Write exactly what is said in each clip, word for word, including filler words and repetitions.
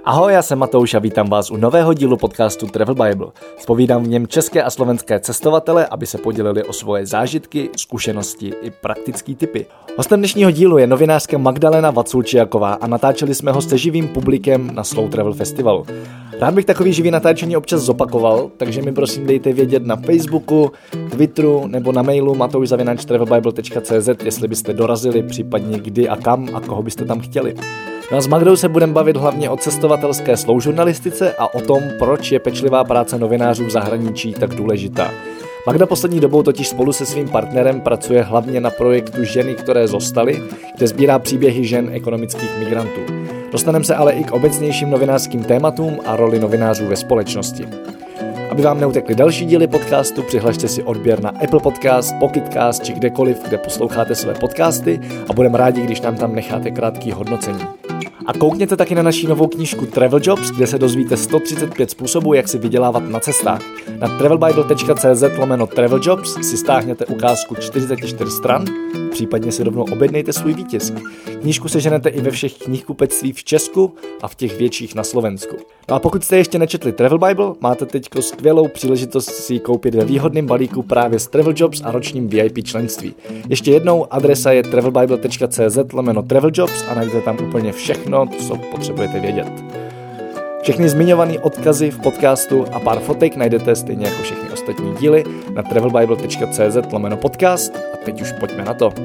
Ahoj, já jsem Matouš a vítám vás u nového dílu podcastu Travel Bible. Zpovídám v něm české a slovenské cestovatele, aby se podělili o svoje zážitky, zkušenosti i praktické tipy. Hostem dnešního dílu je novinářka Magdalena Vaculčiaková a natáčeli jsme ho se živým publikem na Slow Travel Festivalu. Rád bych takový živý natáčení občas zopakoval, takže mi prosím dejte vědět na Facebooku, Twitteru nebo na mailu matouš zavináč travel bible tečka cé zet, jestli byste dorazili, případně kdy a kam a koho byste tam chtěli. No a s Magdou se budeme bavit hlavně o cestovatelské slow žurnalistice a o tom, proč je pečlivá práce novinářů v zahraničí tak důležitá. Magda poslední dobou totiž spolu se svým partnerem pracuje hlavně na projektu Ženy, které zostaly, kde sbírá příběhy žen ekonomických migrantů. Dostaneme se ale i k obecnějším novinářským tématům a roli novinářů ve společnosti. Aby vám neutekly další díly podcastu, přihlašte si odběr na Apple Podcast, Pocket Cast či kdekoliv, kde posloucháte své podcasty a budeme rádi, když nám tam necháte krátký hodnocení. A koukněte taky na naší novou knížku Travel Jobs, kde se dozvíte sto třicet pět způsobů, jak si vydělávat na cestách. Na travel bible tečka cé zet lomeno Travel Jobs si stáhněte ukázku čtyřicet čtyři stran, případně si rovnou objednejte svůj výtisk. Knížku seženete i ve všech knihkupectví v Česku a v těch větších na Slovensku. No a pokud jste ještě nečetli Travel Bible, máte teď skvělou příležitost si ji koupit ve výhodném balíku právě s Travel Jobs a ročním V I P členství. Ještě jednou, adresa je travel bible tečka cé zet lomeno Travel Jobs a najdete tam úplně všechno, co potřebujete vědět. Všechny zmiňované odkazy v podcastu a pár fotek najdete stejně jako všechny ostatní díly na travel bible tečka cé zet lomeno podcast a teď už pojďme na to.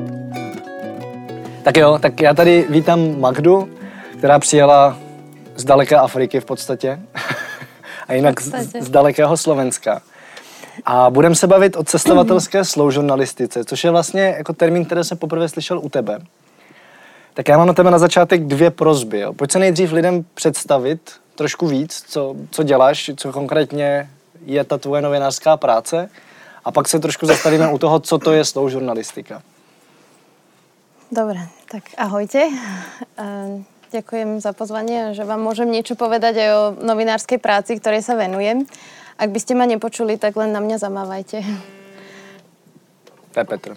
Tak jo, tak já tady vítám Magdu, která přijela z daleké Afriky v podstatě a jinak z, z dalekého Slovenska. A budeme se bavit o cestovatelské slow žurnalistice, což je vlastně jako termín, který jsem poprvé slyšel u tebe. Tak já mám na tebe na začátek dvě prosby. Jo. Pojď se nejdřív lidem představit trošku víc, co, co děláš, co konkrétně je ta tvoje novinářská práce a pak se trošku zastavíme u toho, co to je slow žurnalistika. Dobre, tak ahojte. Ďakujem za pozvanie, že vám môžem niečo povedať aj o novinárskej práci, ktorej sa venujem. Ak by ste ma nepočuli, tak len na mňa zamávajte. To je Petr.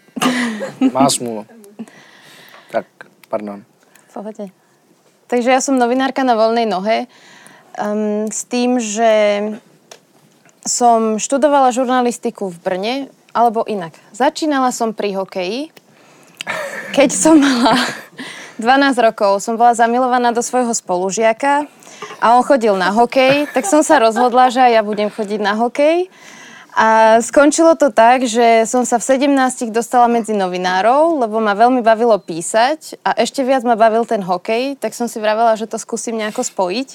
Má smůlu. Tak, pardon. V pohode. Takže ja som novinárka na voľnej nohe um, s tým, že som študovala žurnalistiku v Brne, alebo inak. Začínala som pri hokeji. Keď som mala dvanásť rokov, som bola zamilovaná do svojho spolužiaka a on chodil na hokej, tak som sa rozhodla, že aj ja budem chodiť na hokej. A skončilo to tak, že som sa v sedemnástich dostala medzi novinárov, lebo ma veľmi bavilo písať a ešte viac ma bavil ten hokej, tak som si vravela, že to skúsim nejako spojiť.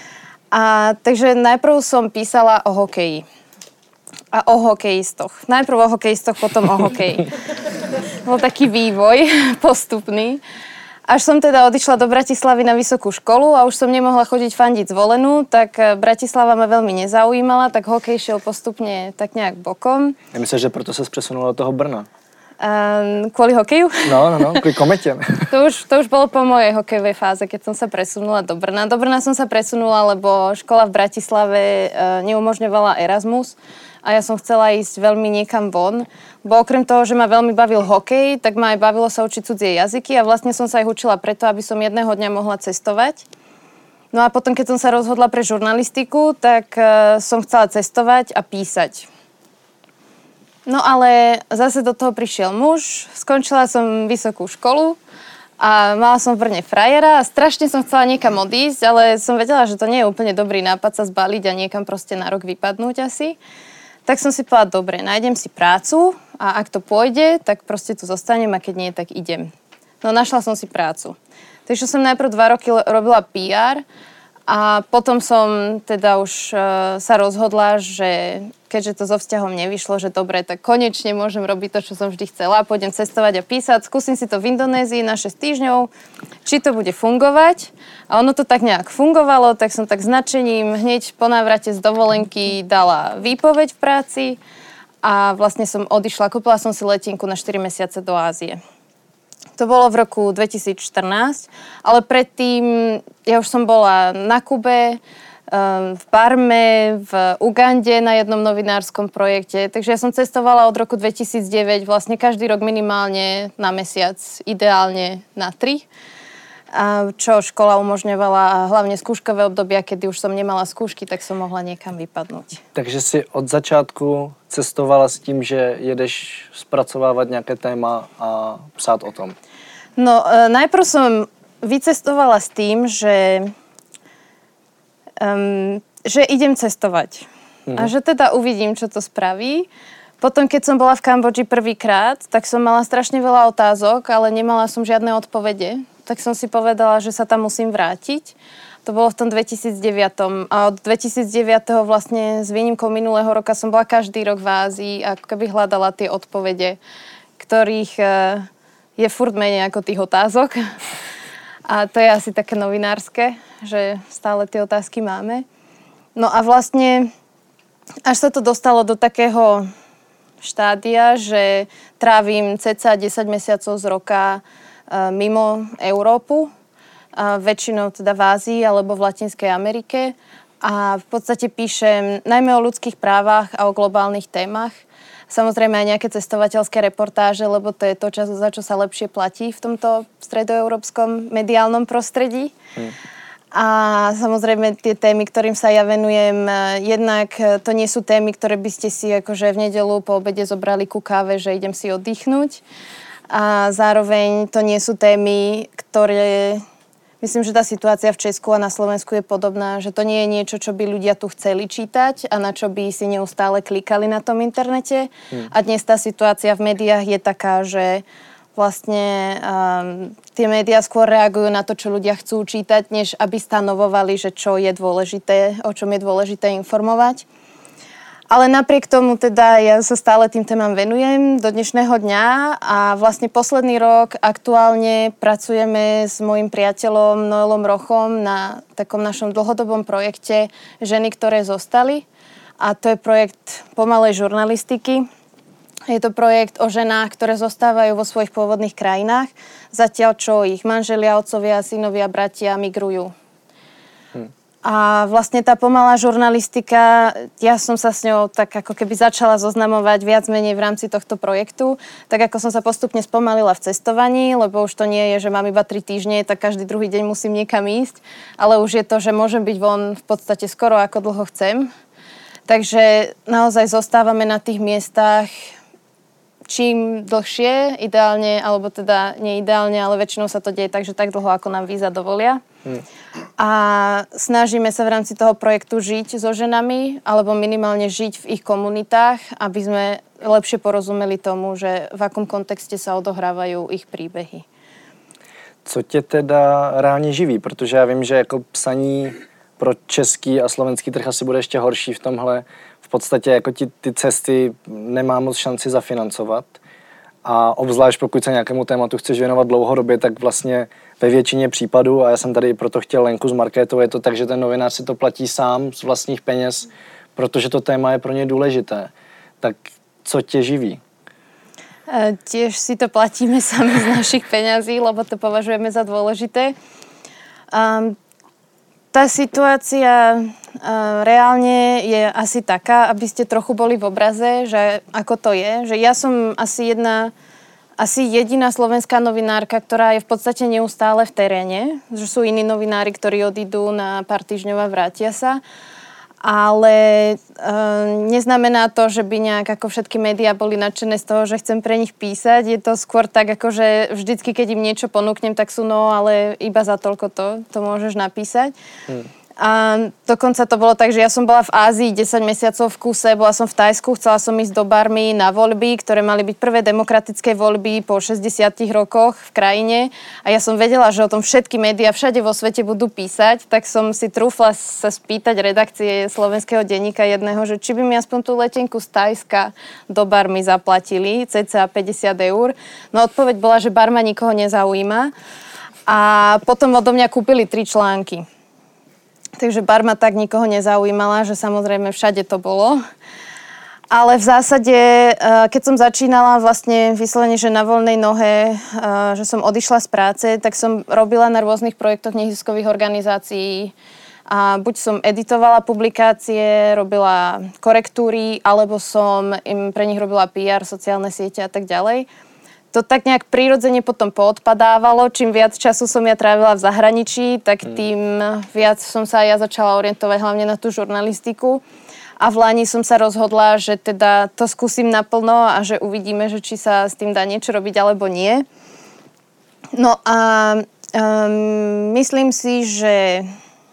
A takže najprv som písala o hokeji. A o hokejistoch. Najprv o hokejistoch, potom o hokeji. Bol taký vývoj postupný. Až som teda odišla do Bratislavy na vysokú školu a už som nemohla chodiť fandiť Zvolenú, tak Bratislava ma veľmi nezaujímala, tak hokej šiel postupne tak nejak bokom. Ja myslím, že proto sa presunula do toho Brna. Um, kvôli hokeju? No, no, no, kvôli komete. to, už, to už bolo po mojej hokejovej fáze, keď som sa presunula do Brna. Do Brna som sa presunula, lebo škola v Bratislave uh, neumožňovala Erasmus. A ja som chcela ísť veľmi niekam von, bo okrem toho, že ma veľmi bavil hokej, tak ma aj bavilo sa učiť cudzie jazyky a vlastne som sa ich učila preto, aby som jedného dňa mohla cestovať. No a potom, keď som sa rozhodla pre žurnalistiku, tak uh, som chcela cestovať a písať. No ale zase do toho prišiel muž, skončila som vysokú školu a mala som v Brne frajera a strašne som chcela niekam odísť, ale som vedela, že to nie je úplne dobrý nápad sa zbaliť a niekam proste na rok vypadnúť asi. Tak som si povedala, dobre, nájdem si prácu a ak to pôjde, tak proste tu zostanem a keď nie, tak idem. No našla som si prácu. Takže som najprv dva roky robila pé er a potom som teda už uh, sa rozhodla, že keďže to so vzťahom nevyšlo, že dobre, tak konečne môžem robiť to, čo som vždy chcela. Pôjdem cestovať a písať, skúsim si to v Indonézii na šesť týždňov, či to bude fungovať. A ono to tak nejak fungovalo, tak som tak značením hneď po návrate z dovolenky dala výpoveď v práci a vlastne som odišla, kúpila som si letenku na štyri mesiace do Ázie. To bolo v roku dvetisícštrnásť, ale predtým ja už som bola na Kube, v Barme, v Ugande na jednom novinárskom projekte. Takže ja som cestovala od roku dvetisícdeväť vlastne každý rok minimálne na mesiac, ideálne na tri. a čo škola umožňovala, hlavne skúškové obdobia, kedy už som nemala skúšky, tak som mohla niekam vypadnúť. Takže si od začátku cestovala s tím, že jedeš spracovávat nějaké téma a psát o tom? No, e, najprv som vycestovala s tým, že, um, že idem cestovať. Mhm. A že teda uvidím, čo to spraví. Potom, keď som bola v Kambodži prvýkrát, tak som mala strašne veľa otázok, ale nemala som žiadne odpovede. Tak som si povedala, že sa tam musím vrátiť. To bolo v tom dvetisícdeväť. A od dvetisícdeväť vlastne s výnimkou minulého roka som bola každý rok v Ázii a ako keby hľadala tie odpovede, ktorých je furt menej ako tých otázok. A to je asi také novinárske, že stále tie otázky máme. No a vlastne až sa to dostalo do takého štádia, že trávim cca desať mesiacov z roka mimo Európu, väčšinou teda v Ázii alebo v Latinskej Amerike a v podstate píšem najmä o ľudských právach a o globálnych témach. Samozrejme aj nejaké cestovateľské reportáže, lebo to je to, za čo sa lepšie platí v tomto stredoeurópskom mediálnom prostredí. Hmm. A samozrejme tie témy, ktorým sa ja venujem, jednak to nie sú témy, ktoré by ste si akože v nedeľu po obede zobrali ku káve, že idem si oddychnúť. A zároveň to nie sú témy, ktoré... Myslím, že tá situácia v Česku a na Slovensku je podobná, že to nie je niečo, čo by ľudia tu chceli čítať a na čo by si neustále klikali na tom internete. Hmm. A dnes tá situácia v médiách je taká, že vlastne um, tie médiá skôr reagujú na to, čo ľudia chcú čítať, než aby stanovovali, že čo je dôležité, o čom je dôležité informovať. Ale napriek tomu teda ja sa stále tým témam venujem do dnešného dňa a vlastne posledný rok aktuálne pracujeme s mojím priateľom Noelom Rochom na takom našom dlhodobom projekte Ženy, ktoré zostali. A to je projekt pomalej žurnalistiky. Je to projekt o ženách, ktoré zostávajú vo svojich pôvodných krajinách, zatiaľ čo ich manželia, otcovia, synovia, bratia migrujú. Hm. A vlastne tá pomalá žurnalistika, ja som sa s ňou tak ako keby začala zoznamovať viac menej v rámci tohto projektu, tak ako som sa postupne spomalila v cestovaní, lebo už to nie je, že mám iba tri týždne, tak každý druhý deň musím niekam ísť, ale už je to, že môžem byť von v podstate skoro ako dlho chcem. Takže naozaj zostávame na tých miestach čím dlhšie, ideálne, alebo teda neideálne, ale väčšinou sa to deje tak, že tak dlho, ako nám víza dovolia. Hmm. A snažíme sa v rámci toho projektu žiť so ženami, alebo minimálne žiť v ich komunitách, aby sme lepšie porozumeli tomu, že v akom kontexte sa odohrávajú ich príbehy. Co tě teda reálně živí? Protože já vím, že jako psaní pro český a slovenský trh asi bude ještě horší v tomhle. V podstatě jako ti, ty cesty nemá moc šanci zafinancovat. A obzvlášť pokud se nějakému tématu chceš věnovat dlouhodobě, tak vlastně ve většině případů, a já jsem tady proto chtěl Lenku z Markétu, je to tak, že ten novinář si to platí sám z vlastních peněz, protože to téma je pro ně důležité. Tak co tě živí? E, tiež si to platíme sami z našich peňazí, lebo to považujeme za dôležité. Um, tá situácia uh, reálne je asi taká, aby ste trochu boli v obraze, že ako to je. Že ja som asi jedna, asi jediná slovenská novinárka, ktorá je v podstate neustále v teréne. Že sú iní novinári, ktorí odídu na pár týždňov a vrátia sa. Ale e, neznamená to, že by nejak ako všetky médiá boli nadšené z toho, že chcem pre nich písať. Je to skôr tak, ako že vždycky, keď im niečo ponúknem, tak sú no, ale iba za toľko to, to môžeš napísať. Hmm. A dokonca to bolo tak, že ja som bola v Ázii desať mesiacov v kuse, bola som v Thajsku, chcela som ísť do Barmy na voľby, ktoré mali byť prvé demokratické voľby po šesťdesiatich rokoch v krajine. A ja som vedela, že o tom všetky médiá všade vo svete budú písať, tak som si trúfla sa spýtať redakcie slovenského denníka jedného, že či by mi aspoň tú letenku z Thajska do Barmy zaplatili, cca päťdesiat eur. No odpoveď bola, že Barma nikoho nezaujíma. A potom odo mňa kúpili tri články. Takže Barma tak nikoho nezaujímala, že samozrejme všade to bolo. Ale v zásade, keď som začínala vlastne vyslovene, že na voľnej nohe, že som odišla z práce, tak som robila na rôznych projektoch neziskových organizácií. A buď som editovala publikácie, robila korektúry, alebo som im pre nich robila pé er, sociálne siete a tak ďalej. to tak nejak prirodzene potom poodpadávalo. Čím viac času som ja trávila v zahraničí, tak tým viac som sa aj ja začala orientovať hlavne na tú žurnalistiku. A v Lani som sa rozhodla, že teda to skúsim naplno a že uvidíme, že či sa s tým dá niečo robiť alebo nie. No a um, myslím si, že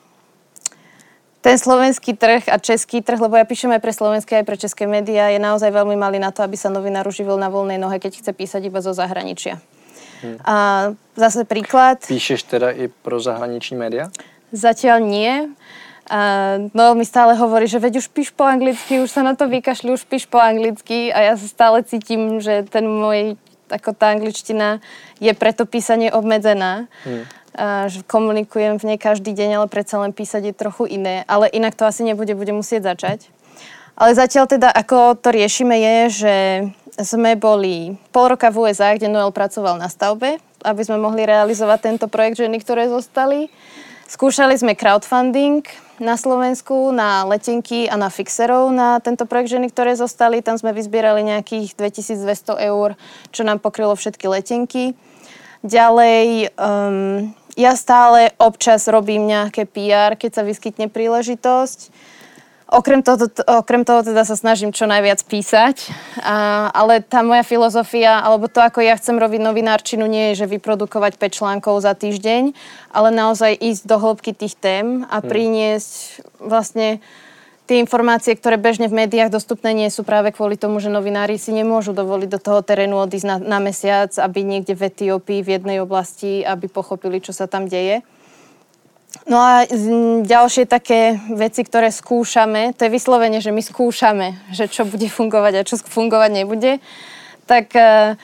ten slovenský trh a český trh, lebo ja píšem aj pre slovenské, aj pre české médiá, je naozaj veľmi malý na to, aby sa novinár uživil na voľnej nohe, keď chce písať iba zo zahraničia. Hmm. A zase príklad. Píšeš teda i pro zahraniční média? Zatiaľ nie. A no mi stále hovorí, že veď už píš po anglicky, už sa na to vykašli, už píš po anglicky a ja sa stále cítim, že ten môj, ako tá angličtina je pre to písanie obmedzená. Hmm. A že komunikujem v nej každý deň, ale predsa len písať je trochu iné. Ale inak to asi nebude, budem musieť začať. Ale zatiaľ teda, ako to riešime, je, že sme boli pol roka v ú es á, kde Noel pracoval na stavbe, aby sme mohli realizovať tento projekt Ženy, ktoré zostali. Skúšali sme crowdfunding na Slovensku, na letenky a na fixerov na tento projekt Ženy, ktoré zostali. Tam sme vyzbierali nejakých dvetisícdvesto eur, čo nám pokrylo všetky letenky. Ďalej, um, ja stále občas robím nejaké pé er, keď sa vyskytne príležitosť. Okrem toho, okrem toho teda sa snažím čo najviac písať, a, ale tá moja filozofia, alebo to, ako ja chcem robiť novinárčinu, nie je, že vyprodukovať päť článkov za týždeň, ale naozaj ísť do hĺbky tých tém a priniesť vlastne tie informácie, ktoré bežne v médiách dostupné nie sú práve kvôli tomu, že novinári si nemôžu dovoliť do toho terénu odísť na, na mesiac, aby niekde v Etiópii, v jednej oblasti, aby pochopili, čo sa tam deje. No a ďalšie také veci, ktoré skúšame, to je vyslovene, že my skúšame, že čo bude fungovať a čo fungovať nebude, tak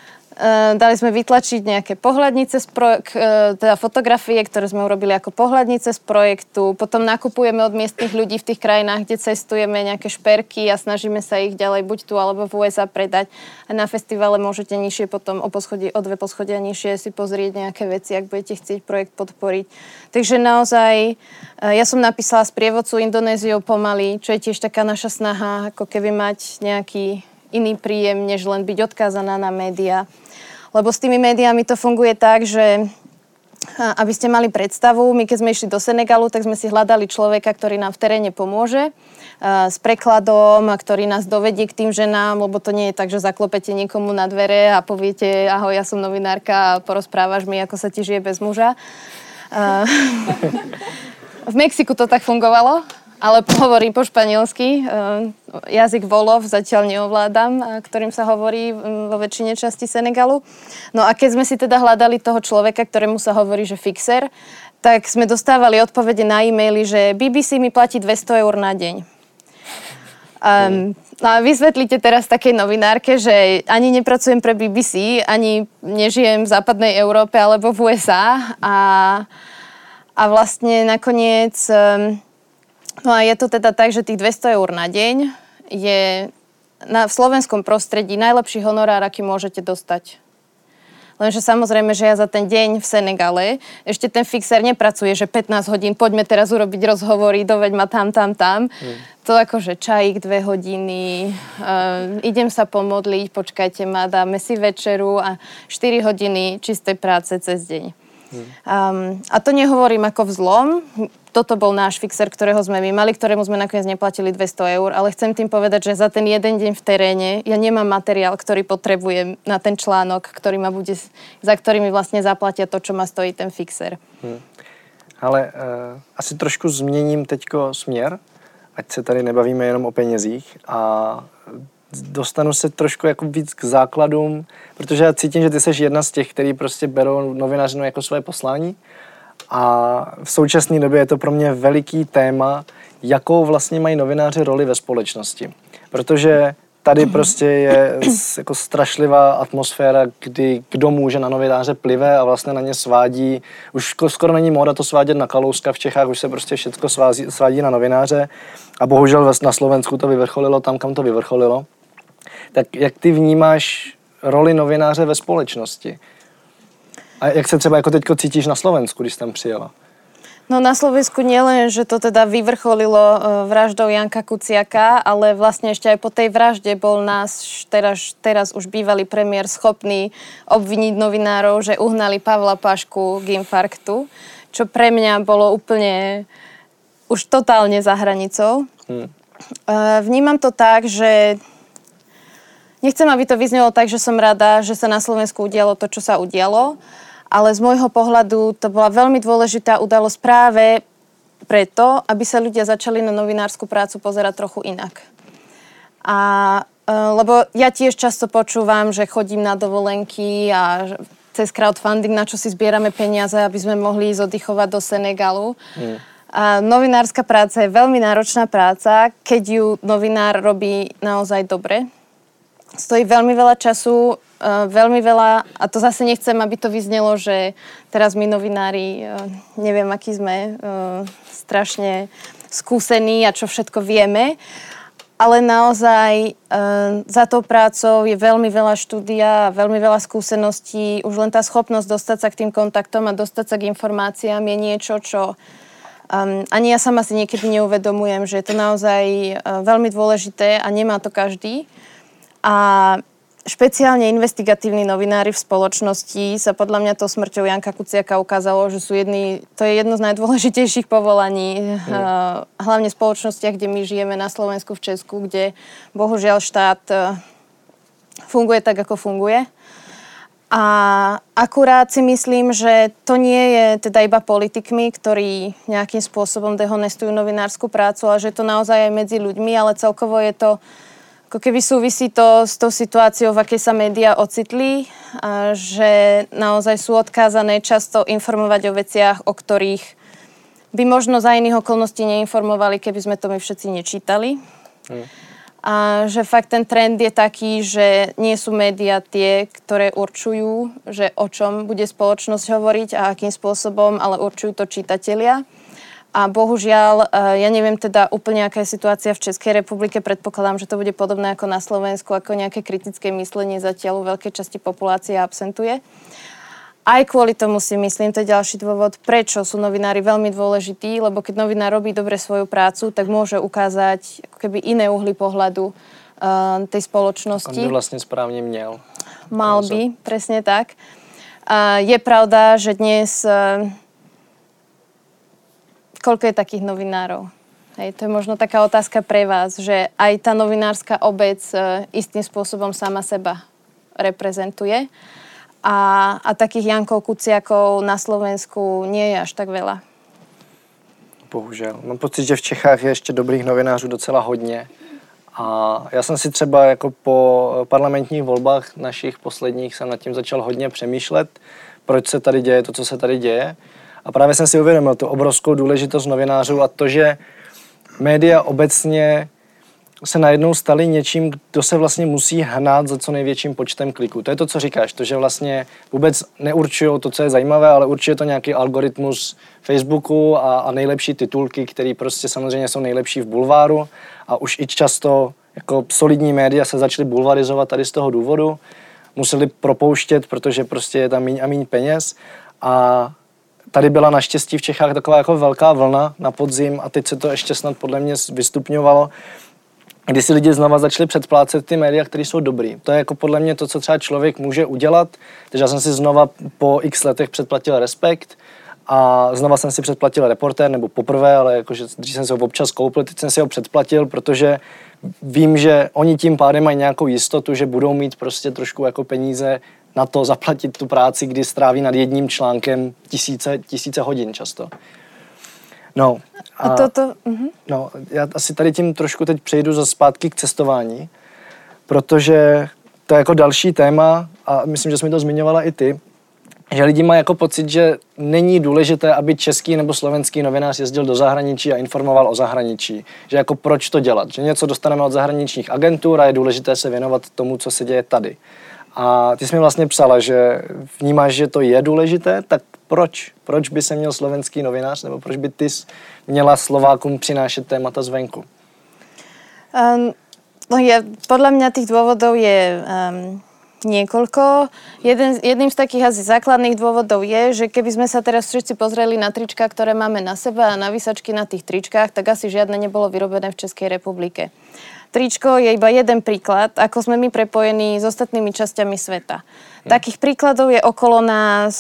Uh, dali sme vytlačiť nejaké pohľadnice z projek- uh, teda fotografie, ktoré sme urobili ako pohľadnice z projektu. Potom nakupujeme od miestnych ľudí v tých krajinách, kde cestujeme, nejaké šperky a snažíme sa ich ďalej buď tu alebo v ú es á predať. A na festivale môžete nižšie potom o, poschodie, o dve poschodia nižšie si pozrieť nejaké veci, ak budete chcieť projekt podporiť. Takže naozaj, uh, ja som napísala sprievodcu Indonéziou pomaly, čo je tiež taká naša snaha, ako keby mať nejaký iný príjem, než len byť odkázaná na médiá. Lebo s tými médiami to funguje tak, že aby ste mali predstavu, my keď sme išli do Senegalu, tak sme si hľadali človeka, ktorý nám v teréne pomôže s prekladom, ktorý nás dovedie k tým ženám, lebo to nie je tak, že zaklopete niekomu na dvere a poviete, ahoj, ja som novinárka a porozprávaš mi, ako sa ti žije bez muža. V Mexiku to tak fungovalo. Ale hovorím po španielsky. Jazyk Volov zatiaľ neovládam, ktorým sa hovorí vo väčšine časti Senegalu. No a keď sme si teda hľadali toho človeka, ktorému sa hovorí, že fixer, tak sme dostávali odpovede na e-maily, že bé bé cé mi platí dvesto eur na deň. Um, a vysvetlíte teraz takej novinárke, že ani nepracujem pre bé bé cé, ani nežijem v západnej Európe alebo v ú es á a, a vlastne nakoniec... Um, No a je to teda tak, že tých dvesto eur na deň je na, v slovenskom prostredí najlepší honorár, aký môžete dostať. Lenže samozrejme, že ja za ten deň v Senegale ešte ten fixer nepracuje, že pätnásť hodín, poďme teraz urobiť rozhovory, doveď ma tam, tam, tam. Mm. To akože čajík dve hodiny, uh, idem sa pomodliť, počkajte ma, dáme si večeru a štyri hodiny čistej práce cez deň. Mm. Um, a to nehovorím ako vzlom. Toto bol náš fixer, ktorého sme my mali, ktorému sme nakoniec neplatili dvesto eur, ale chcem tým povedať, že za ten jeden deň v teréne ja nemám materiál, ktorý potrebujem na ten článok, ktorý ma bude, za ktorý mi vlastne zaplatia to, čo ma stojí ten fixer. Hmm. Ale uh, asi trošku změním teďko směr, ať se tady nebavíme jenom o penězích a dostanu se trošku jako víc k základům, protože já cítím, že ty jsi jedna z těch, kteří prostě berou novinařinu jako své poslání. A v současné době je to pro mě veliký téma, jakou vlastně mají novináři roli ve společnosti. Protože tady prostě je jako strašlivá atmosféra, kdy kdo může na novináře plive a vlastně na ně svádí. Už skoro není móda to svádět na Kalouska v Čechách, už se prostě všechno svádí, svádí na novináře. A bohužel na Slovensku to vyvrcholilo tam, kam to vyvrcholilo. Tak jak ty vnímáš roli novináře ve společnosti? A jak se třeba jako teďko cítíš na Slovensku, když jsi tam přijela? No na Slovensku nielen, že to teda vyvrcholilo vraždou Janka Kuciaka, ale vlastne ešte aj po tej vražde bol nás teraz, teraz už bývalý premiér schopný obviniť novinárov, že uhnali Pavla Pašku k infarktu, čo pre mňa bolo úplne už totálne za hranicou. Hmm. Vnímam to tak, že nechcem, aby to vyznelo tak, že som rada, že sa na Slovensku udialo to, čo sa udialo, ale z môjho pohľadu to bola veľmi dôležitá udalosť práve preto, aby sa ľudia začali na novinársku prácu pozerať trochu inak. A, lebo ja tiež často počúvam, že chodím na dovolenky a cez crowdfunding, na čo si zbierame peniaze, aby sme mohli ísť oddychovať do Senegalu. Mm. A novinárska práca je veľmi náročná práca, keď ju novinár robí naozaj dobre. Stojí veľmi veľa času, Uh, veľmi veľa, a to zase nechcem, aby to vyznelo, že teraz my novinári, uh, neviem, aký sme, uh, strašne skúsení a čo všetko vieme, ale naozaj uh, za tou prácou je veľmi veľa štúdia, veľmi veľa skúseností, už len tá schopnosť dostať sa k tým kontaktom a dostať sa k informáciám je niečo, čo um, ani ja sama si niekedy neuvedomujem, že je to naozaj uh, veľmi dôležité a nemá to každý. A špeciálne investigatívni novinári v spoločnosti sa podľa mňa tou smrťou Janka Kuciaka ukázalo, že sú jedni, to je jedno z najdôležitejších povolaní, mm. hlavne v spoločnostiach, kde my žijeme na Slovensku, v Česku, kde bohužiaľ štát funguje tak, ako funguje. A akurát si myslím, že to nie je teda iba politikmi, ktorí nejakým spôsobom dehonestujú novinárskú prácu, ale že je to naozaj aj medzi ľuďmi, ale celkovo je to ako keby súvisí to s tou situáciou, v akej sa médiá ocitli, a že naozaj sú odkázané často informovať o veciach, o ktorých by možno za iných okolností neinformovali, keby sme to my všetci nečítali. Mm. A že fakt ten trend je taký, že nie sú médiá tie, ktoré určujú, že o čom bude spoločnosť hovoriť a akým spôsobom, ale určujú to čitatelia. A bohužiaľ, ja neviem teda úplne, aká je situácia v Českej republike. Predpokladám, že to bude podobné ako na Slovensku, ako nejaké kritické myslenie zatiaľ u veľkej časti populácie absentuje. Aj kvôli tomu si myslím, to je ďalší dôvod, prečo sú novinári veľmi dôležití, lebo keď novinár robí dobre svoju prácu, tak môže ukázať ako keby iné uhly pohľadu uh, tej spoločnosti. On by vlastne správne měl. Mal by, presne tak. Uh, je pravda, že dnes... Uh, Koľko je takých novinárov? Hej, to je možno taká otázka pre vás, že aj tá novinárska obec e, istým spôsobom sama seba reprezentuje. A, a takých Jankov Kuciakov na Slovensku nie je až tak veľa. Bohužel. Mám pocit, že v Čechách je ještě dobrých novinářů docela hodně. A já jsem si třeba jako po parlamentních volbách našich posledních jsem nad tím začal hodně přemýšlet, proč se tady děje to, co se tady děje. A právě jsem si uvědomil tu obrovskou důležitost novinářů a to, že média obecně se najednou staly něčím, kdo se vlastně musí hnát za co největším počtem kliků. To je to, co říkáš, to, že vlastně vůbec neurčují to, co je zajímavé, ale určuje to nějaký algoritmus Facebooku a, a nejlepší titulky, které prostě samozřejmě jsou nejlepší v bulváru a už i často jako solidní média se začaly bulvarizovat tady z toho důvodu. Museli propouštět, protože prostě je tam míň a míň peněz a tady byla naštěstí v Čechách taková jako velká vlna na podzim a teď se to ještě snad podle mě vystupňovalo, kdy si lidi znova začali předplácet ty média, které jsou dobrý. To je jako podle mě to, co třeba člověk může udělat. Takže já jsem si znova po x letech předplatil Respekt a znova jsem si předplatil Reportér, nebo poprvé, ale jakože dřív jsem si ho občas koupil, teď jsem si ho předplatil, protože vím, že oni tím pádem mají nějakou jistotu, že budou mít prostě trošku jako peníze na to zaplatit tu práci, kdy stráví nad jedním článkem tisíce, tisíce hodin často. No, a, a toto, uh-huh. no, já asi tady tím trošku teď přejdu za zpátky k cestování, protože to je jako další téma a myslím, že jsi mi to zmiňovala i ty, že lidi mají jako pocit, že není důležité, aby český nebo slovenský novinář jezdil do zahraničí a informoval o zahraničí. Že jako proč to dělat? Že něco dostaneme od zahraničních agentur a je důležité se věnovat tomu, co se děje tady. A ty jsi mi vlastně psala, že vnímáš, že to je důležité, tak proč? Proč by se měl slovenský novinář, nebo proč by ty měla Slovákům přinášet témata zvenku? Um, no je, podľa mňa tých dôvodov je um, niekoľko. Jeden, jedným z takých asi základných dôvodov je, že keby sme sa teraz všetci pozreli na trička, ktoré máme na sebe a na výsačky na tých tričkách, tak asi žiadne nebolo vyrobené v Českej republike. Tričko je iba jeden príklad, ako sme my prepojení s ostatnými časťami sveta. Hm. Takých príkladov je okolo nás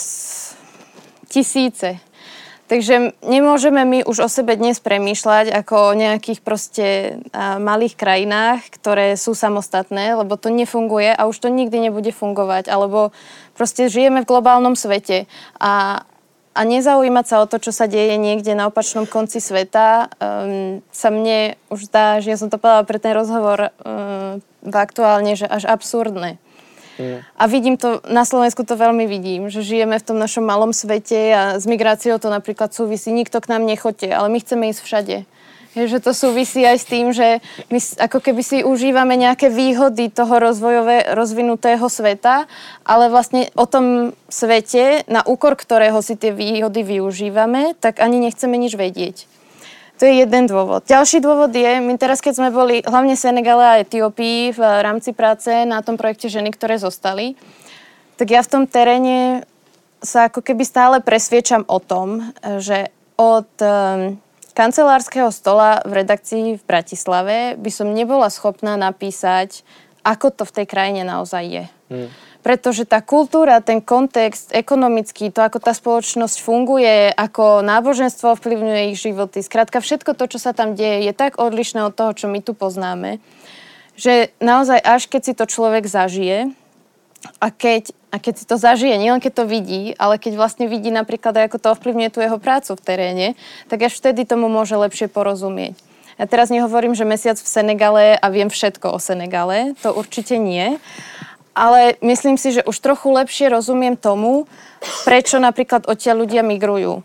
tisíce. Takže nemôžeme my už o sebe dnes premýšľať ako o nejakých proste malých krajinách, ktoré sú samostatné, lebo to nefunguje a už to nikdy nebude fungovať. Alebo proste žijeme v globálnom svete a, a nezaujímať sa o to, čo sa deje niekde na opačnom konci sveta, um, sa mne už zdá, že ja som to povedala pre ten rozhovor um, aktuálne, že až absurdné. Mm. A vidím to, na Slovensku to veľmi vidím, že žijeme v tom našom malom svete a s migráciou to napríklad súvisí. Nikto k nám nechoďte, ale my chceme ísť všade. Je, že to súvisí aj s tým, že my ako keby si užívame nejaké výhody toho rozvojové, rozvinutého sveta, ale vlastne o tom svete, na úkor ktorého si tie výhody využívame, tak ani nechceme nič vedieť. To je jeden dôvod. Ďalší dôvod je, my teraz, keď sme boli hlavne v Senegale a Etiópii v rámci práce na tom projekte Ženy, ktoré zostali, tak ja v tom teréne sa ako keby stále presviečam o tom, že od um, kancelárskeho stola v redakcii v Bratislave by som nebola schopná napísať, ako to v tej krajine naozaj je. Hmm. Pretože tá kultúra, ten kontext ekonomický, to, ako tá spoločnosť funguje, ako náboženstvo ovplyvňuje ich životy, skrátka všetko to, čo sa tam deje, je tak odlišné od toho, čo my tu poznáme, že naozaj až keď si to človek zažije a keď, a keď si to zažije, nielen keď to vidí, ale keď vlastne vidí napríklad aj ako to ovplyvňuje tú jeho prácu v teréne, tak až vtedy tomu môže lepšie porozumieť. Ja teraz nehovorím, že mesiac v Senegale a viem všetko o Senegale, to určite nie. Ale myslím si, že už trochu lepšie rozumiem tomu, prečo napríklad odtiaľ ľudia migrujú.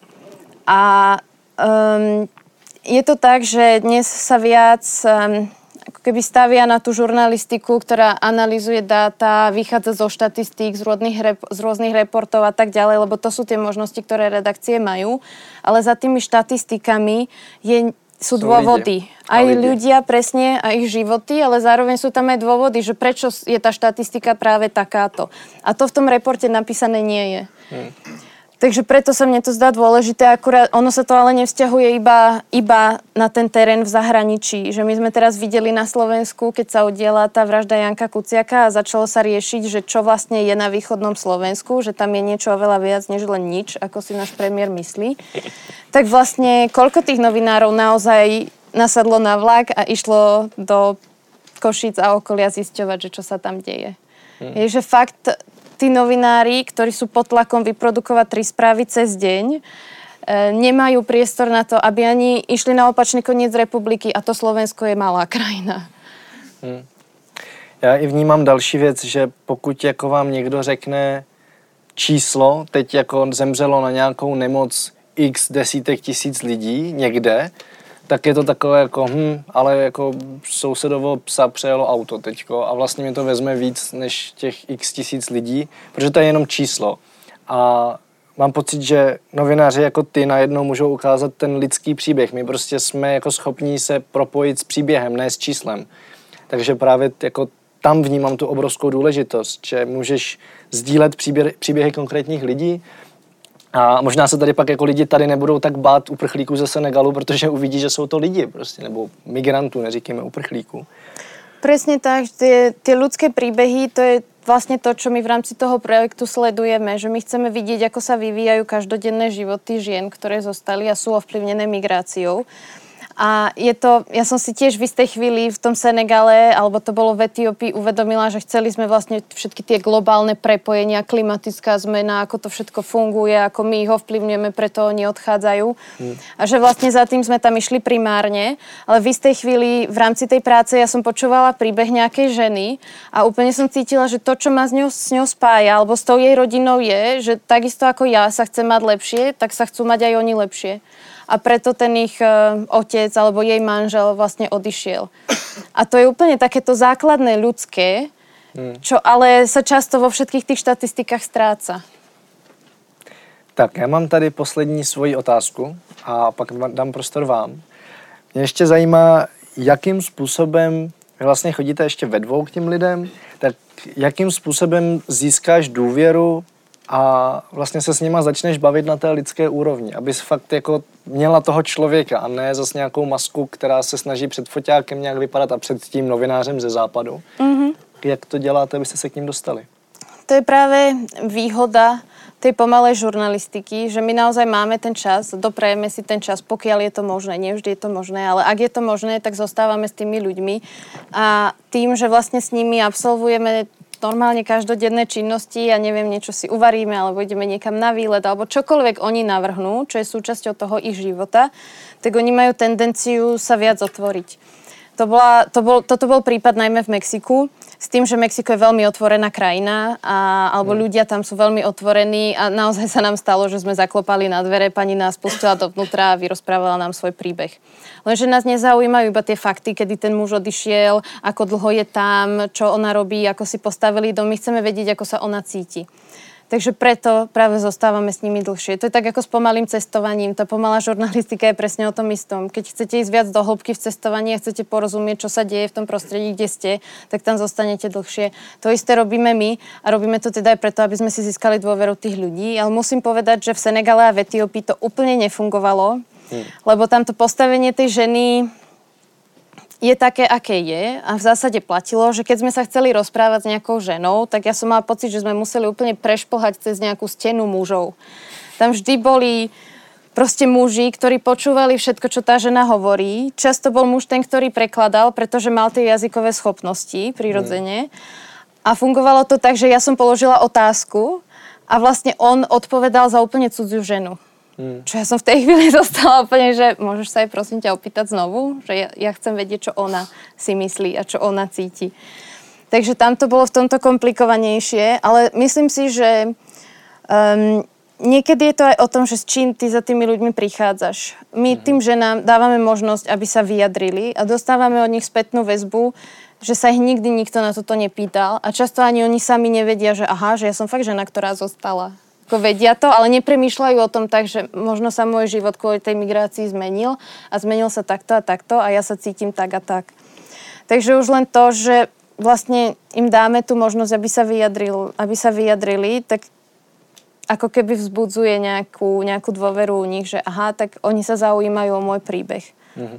A um, je to tak, že dnes sa viac um, ako keby stavia na tú žurnalistiku, ktorá analyzuje dáta, vychádza zo štatistík, z rôznych, rep- z rôznych reportov a tak ďalej, lebo to sú tie možnosti, ktoré redakcie majú. Ale za tými štatistikami je... sú, sú dôvody. Ľudia. Aj ľudia. ľudia presne a ich životy, ale zároveň sú tam aj dôvody, že prečo je tá štatistika práve takáto. A to v tom reporte napísané nie je. Hmm. Takže preto sa mne to zdá dôležité, akurát ono sa to ale nevzťahuje iba, iba na ten terén v zahraničí. Že my sme teraz videli na Slovensku, keď sa udiela tá vražda Janka Kuciaka a začalo sa riešiť, že čo vlastne je na východnom Slovensku, že tam je niečo oveľa viac, než len nič, ako si náš premiér myslí. Tak vlastne koľko tých novinárov naozaj nasadlo na vlak a išlo do Košíc a okolia zisťovať, že čo sa tam deje. Hmm. Je, že fakt... tí novinári, ktorí sú pod tlakom vyprodukovať tri správy cez deň, e, nemajú priestor na to, aby ani išli na opačný koniec republiky a to Slovensko je malá krajina. Hmm. Já i vnímám další věc, že pokud jako vám někdo řekne číslo, teď jako zemřelo na nějakou nemoc x desítek tisíc lidí někde, tak je to takové jako, hm, ale jako sousedovo psa přejelo auto teďko a vlastně mi to vezme víc než těch x tisíc lidí, protože to je jenom číslo. A mám pocit, že novináři jako ty najednou můžou ukázat ten lidský příběh. My prostě jsme jako schopní se propojit s příběhem, ne s číslem. Takže právě jako tam vnímám tu obrovskou důležitost, že můžeš sdílet příběhy, příběhy konkrétních lidí. A možná se tady pak jako lidi tady nebudou tak bát uprchlíků ze Senegalu, protože uvidí, že jsou to lidi prostě, nebo migrantů, neříkejme uprchlíků. Presne tak, tie, tie ľudské príbehy, to je vlastne to, čo my v rámci toho projektu sledujeme, že my chceme vidieť, ako sa vyvíjajú každodenné životy žien, ktoré zostali a sú ovplyvnené migráciou. A je to, ja som si tiež v istej chvíli v tom Senegale, alebo to bolo v Etiópii, uvedomila, že chceli sme vlastne všetky tie globálne prepojenia, klimatická zmena, ako to všetko funguje, ako my ich ovplyvňujeme, preto oni odchádzajú. Hmm. A že vlastne za tým sme tam išli primárne, ale v istej chvíli v rámci tej práce ja som počúvala príbeh nejakej ženy a úplne som cítila, že to, čo ma s ňou, s ňou spája, alebo s tou jej rodinou je, že takisto ako ja sa chcem mať lepšie, tak sa chcú mať aj oni lepšie. A preto ten ich uh, otec alebo jej manžel vlastne odišiel. A to je úplne takéto základné ľudské, hmm. čo ale sa často vo všetkých tých štatistikách stráca. Tak, já mám tady poslední svoji otázku a pak dám prostor vám. Mě ještě zajímá, jakým způsobem Vy vlastně chodíte ještě ve dvou k těm lidem, tak jakým způsobem získáš důvěru a vlastně se s nima začneš bavit na té lidské úrovni, abys fakt jako měla toho člověka a ne zase nějakou masku, která se snaží před foťákem nějak vypadat a před tím novinářem ze západu. Mm-hmm. Jak to děláte, abyste se k ním dostali? To je práve výhoda tej pomalej žurnalistiky, že my naozaj máme ten čas, doprajeme si ten čas, pokiaľ je to možné. Nie vždy je to možné, ale ak je to možné, tak zostávame s tými ľuďmi. A tým, že vlastne s nimi absolvujeme normálne každodenné činnosti, ja neviem, niečo si uvaríme, alebo ideme niekam na výlet, alebo čokoľvek oni navrhnú, čo je súčasťou toho ich života, tak oni majú tendenciu sa viac otvoriť. To bola, to bol, toto bol prípad najmä v Mexiku, s tým, že Mexiko je veľmi otvorená krajina, a, alebo mm. ľudia tam sú veľmi otvorení a naozaj sa nám stalo, že sme zaklopali na dvere, pani nás pustila dovnútra a vyrozprávala nám svoj príbeh. Lenže nás nezaujímajú iba tie fakty, kedy ten muž odišiel, ako dlho je tam, čo ona robí, ako si postavili dom. My chceme vedieť, ako sa ona cíti. Takže preto práve zostávame s nimi dlhšie. To je tak ako s pomalým cestovaním. Tá pomalá žurnalistika je presne o tom istom. Keď chcete ísť viac do hĺbky v cestovaní a chcete porozumieť, čo sa deje v tom prostredí, kde ste, tak tam zostanete dlhšie. To isté robíme my a robíme to teda aj preto, aby sme si získali dôveru tých ľudí. Ale musím povedať, že v Senegale a v Etiópii to úplne nefungovalo, hmm. lebo tamto postavenie tej ženy je také, aké je a v zásade platilo, že keď sme sa chceli rozprávať s nejakou ženou, tak ja som mala pocit, že sme museli úplne prešplhať cez nejakú stenu mužov. Tam vždy boli proste muži, ktorí počúvali všetko, čo tá žena hovorí. Často bol muž ten, ktorý prekladal, pretože mal tie jazykové schopnosti prirodzene. A fungovalo to tak, že ja som položila otázku a vlastne on odpovedal za úplne cudziu ženu. Hmm. Čo ja som v tej chvíli dostala úplne, že môžeš sa aj prosím ťa opýtať znovu, že ja, ja chcem vedieť, čo ona si myslí a čo ona cíti. Takže tam to bolo v tomto komplikovanejšie, ale myslím si, že um, niekedy je to aj o tom, že s čím ty za tými ľuďmi prichádzaš. My hmm. tým ženám dávame možnosť, aby sa vyjadrili a dostávame od nich spätnú väzbu, že sa ich nikdy nikto na toto nepýtal a často ani oni sami nevedia, že aha, že ja som fakt žena, ktorá zostala. Vedia to, ale nepremýšľajú o tom tak, že možno sa môj život kvôli tej migrácii zmenil a zmenil sa takto a takto a ja sa cítim tak a tak. Takže už len to, že vlastne im dáme tú možnosť, aby sa, vyjadril, aby sa vyjadrili, tak ako keby vzbudzuje nejakú, nejakú dôveru u nich, že aha, tak oni sa zaujímajú o môj príbeh. Mhm.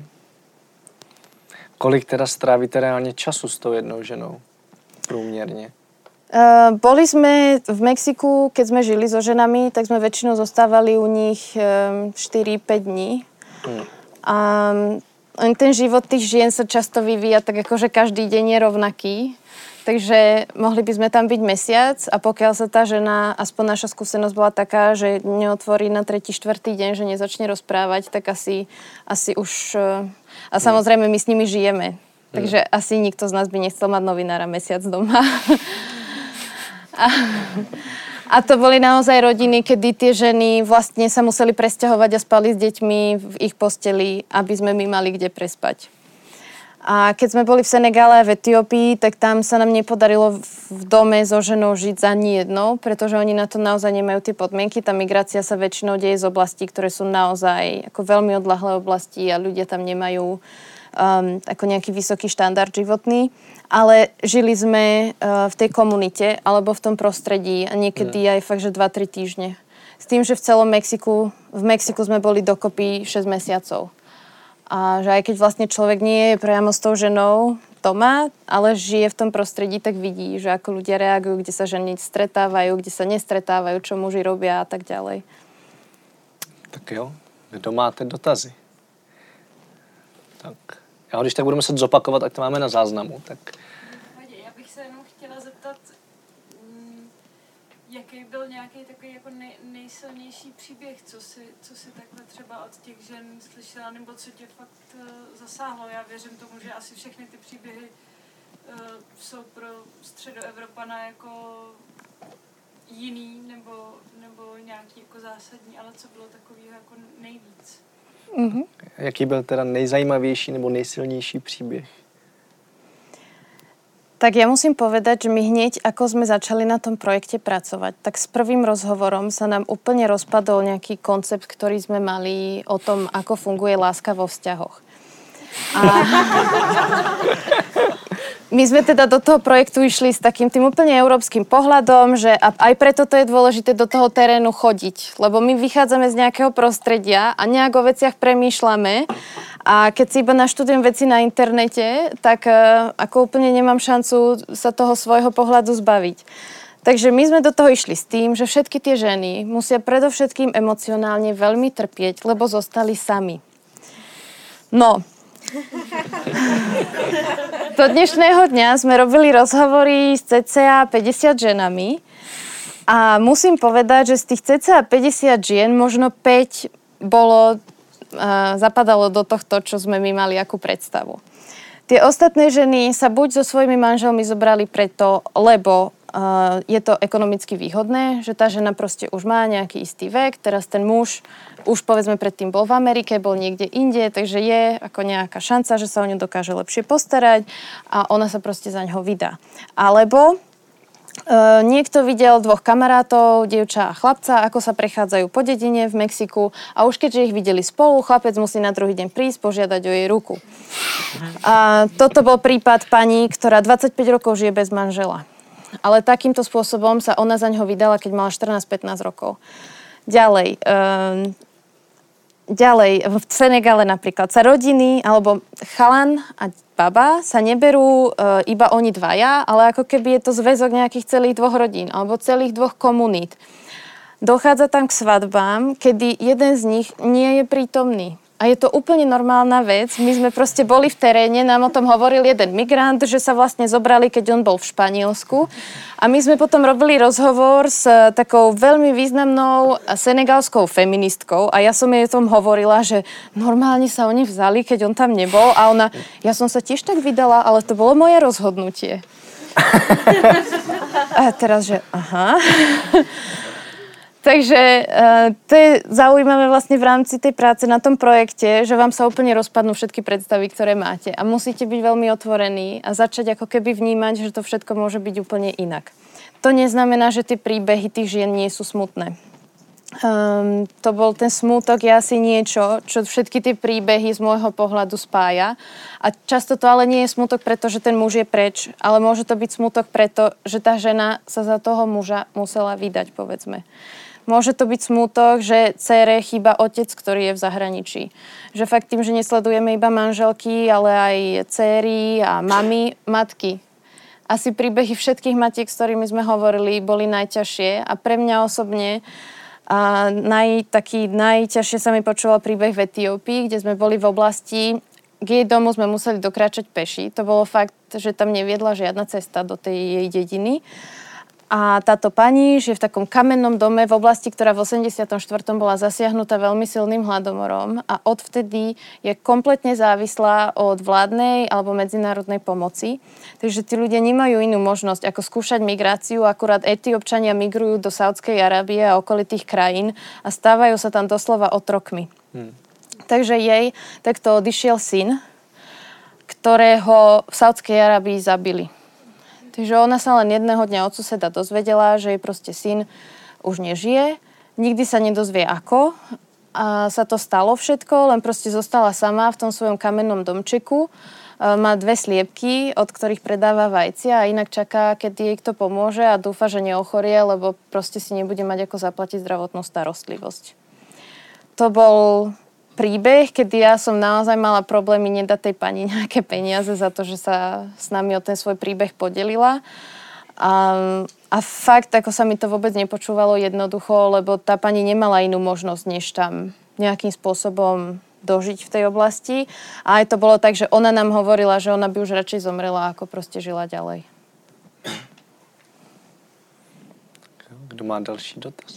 Kolik teda strávíte reálne času s tou jednou ženou? Průměrně. Uh, boli sme v Mexiku, keď sme žili so ženami, tak sme väčšinou zostávali u nich um, štyri päť dní. Hmm. A um, ten život tých žien sa často vyvíja tak ako, že každý deň je rovnaký. Takže mohli by sme tam byť mesiac a pokiaľ sa tá žena, aspoň naša skúsenosť bola taká, že neotvorí na tretí, štvrtý deň, že nezačne rozprávať, tak asi, asi už... Uh, a samozrejme my s nimi žijeme. Hmm. Takže asi nikto z nás by nechcel mať novinára mesiac doma. A, a to boli naozaj rodiny, kedy tie ženy vlastne sa museli presťahovať a spali s deťmi v ich posteli, aby sme my mali kde prespať. A keď sme boli v Senegále a v Etiópii, tak tam sa nám nepodarilo v dome so ženou žiť za ani jedno, pretože oni na to naozaj nemajú tie podmienky. Tá migrácia sa väčšinou deje z oblastí, ktoré sú naozaj ako veľmi odľahlé oblasti a ľudia tam nemajú Um, ako nejaký vysoký štandard životný, ale žili sme uh, v tej komunite alebo v tom prostredí a niekedy mm. aj fakt, že dva tri týždne. S tým, že v celom Mexiku, v Mexiku sme boli dokopy šesť mesiacov. A že aj keď vlastne človek nie je priamo s tou ženou doma, ale žije v tom prostredí, tak vidí, že ako ľudia reagujú, kde sa ženy stretávajú, kde sa nestretávajú, čo muži robia a tak ďalej. Tak jo, kdo máte dotazy? Tak... Já když tak budu muset zopakovat, tak to máme na záznamu. Tak... Já bych se jenom chtěla zeptat, jaký byl nějaký takový jako nej, nejsilnější příběh, co si, co si takhle třeba od těch žen slyšela, nebo co tě fakt uh, zasáhlo. Já věřím tomu, že asi všechny ty příběhy uh, jsou pro středoevropana jako jiný, nebo, nebo nějaký jako zásadní, ale co bylo takového jako nejvíc. Mm-hmm. Jaký byl teda nejzajímavější nebo nejsilnější příběh? Tak ja musím povedať, že my hneď, ako sme začali na tom projekte pracovať, tak s prvým rozhovorom sa nám úplne rozpadol nejaký koncept, ktorý sme mali o tom, ako funguje láska vo vzťahoch. A, My sme teda do toho projektu išli s takým tým úplne európskym pohľadom, že aj preto to je dôležité do toho terénu chodiť, lebo my vychádzame z nejakého prostredia a nejak o veciach premýšľame a keď si iba naštudujem veci na internete, tak ako úplne nemám šancu sa toho svojho pohľadu zbaviť. Takže my sme do toho išli s tým, že všetky tie ženy musia predovšetkým emocionálne veľmi trpieť, lebo zostali sami. No, do dnešného dňa sme robili rozhovory s cca päťdesiat ženami a musím povedať, že z tých cca päťdesiat žien možno päť bolo, uh, zapadalo do tohto, čo sme my mali akú predstavu. Tie ostatné ženy sa buď so svojimi manželmi zobrali preto, lebo Uh, je to ekonomicky výhodné, že tá žena proste už má nejaký istý vek, teraz ten muž už povedzme predtým bol v Amerike, bol niekde inde, takže je ako nejaká šanca, že sa o ňu dokáže lepšie postarať a ona sa proste za ňoho vydá. Alebo uh, niekto videl dvoch kamarátov, dievča a chlapca, ako sa prechádzajú po dedine v Mexiku a už keďže ich videli spolu, chlapec musí na druhý deň prísť, požiadať o jej ruku. A toto bol prípad pani, ktorá dvadsaťpäť rokov žije bez manžela. Ale takýmto spôsobom sa ona za ňoho vydala, keď mala štrnásť pätnásť rokov. Ďalej, um, ďalej, v Senegale napríklad sa rodiny, alebo chalan a baba sa neberú uh, iba oni dvaja, ale ako keby je to zväzok nejakých celých dvoch rodín, alebo celých dvoch komunít. Dochádza tam k svadbám, kedy jeden z nich nie je prítomný. A je to úplne normálna vec. My sme proste boli v teréne, nám o tom hovoril jeden migrant, že sa vlastne zobrali, keď on bol v Španielsku. A my sme potom robili rozhovor s takou veľmi významnou senegalskou feministkou a ja som jej o tom hovorila, že normálne sa oni vzali, keď on tam nebol. A ona, ja som sa tiež tak vydala, ale to bolo moje rozhodnutie. A teraz, že aha... Takže uh, to je zaujímavé vlastne v rámci tej práce na tom projekte, že vám sa úplne rozpadnú všetky predstavy, ktoré máte. A musíte byť veľmi otvorení a začať ako keby vnímať, že to všetko môže byť úplne inak. To neznamená, že tie príbehy tých žien nie sú smutné. Um, to bol ten smútok, je asi niečo, čo všetky tie príbehy z môjho pohľadu spája. A často to ale nie je smútok, pretože ten muž je preč, ale môže to byť smútok preto, že tá žena sa za toho muža musela vydať, povedzme. Môže to byť smútok, že dcére chýba otec, ktorý je v zahraničí. Že fakt tým, že nesledujeme iba manželky, ale aj dcéry a mami, matky. Asi príbehy všetkých matiek, s ktorými sme hovorili, boli najťažšie a pre mňa osobne a naj, taký najťažšie sa mi počúval príbeh v Etiópii, kde sme boli v oblasti, k jej domu sme museli dokráčať peši. To bolo fakt, že tam neviedla žiadna cesta do tej jej dediny. A táto pani žije v takom kamennom dome v oblasti, ktorá v osemdesiatom štvrtom bola zasiahnutá veľmi silným hladomorom a odvtedy je kompletne závislá od vládnej alebo medzinárodnej pomoci. Takže tí ľudia nemajú inú možnosť ako skúšať migráciu, akurát Etiópčania migrujú do Saudskej Arábie a okolitých krajín a stávajú sa tam doslova otrokmi. Hmm. Takže jej takto odišiel syn, ktorého v Saudskej Arábii zabili. Takže ona sa len jedného dňa od suseda dozvedela, že jej proste syn už nežije, nikdy sa nedozvie ako a sa to stalo všetko, len proste zostala sama v tom svojom kamennom domčeku, má dve sliepky, od ktorých predáva vajcia a inak čaká, keď jej kto pomôže a dúfa, že neochorie, lebo proste si nebude mať ako zaplatiť zdravotnú starostlivosť. To bol príbeh, kedy ja som naozaj mala problémy nedať tej pani nejaké peniaze za to, že sa s nami o ten svoj príbeh podelila. A, a fakt, ako sa mi to vôbec nepočúvalo jednoducho, lebo tá pani nemala inú možnosť, než tam nejakým spôsobom dožiť v tej oblasti. A aj to bolo tak, že ona nám hovorila, že ona by už radšej zomrela, ako proste žila ďalej. Kdo má další dotaz?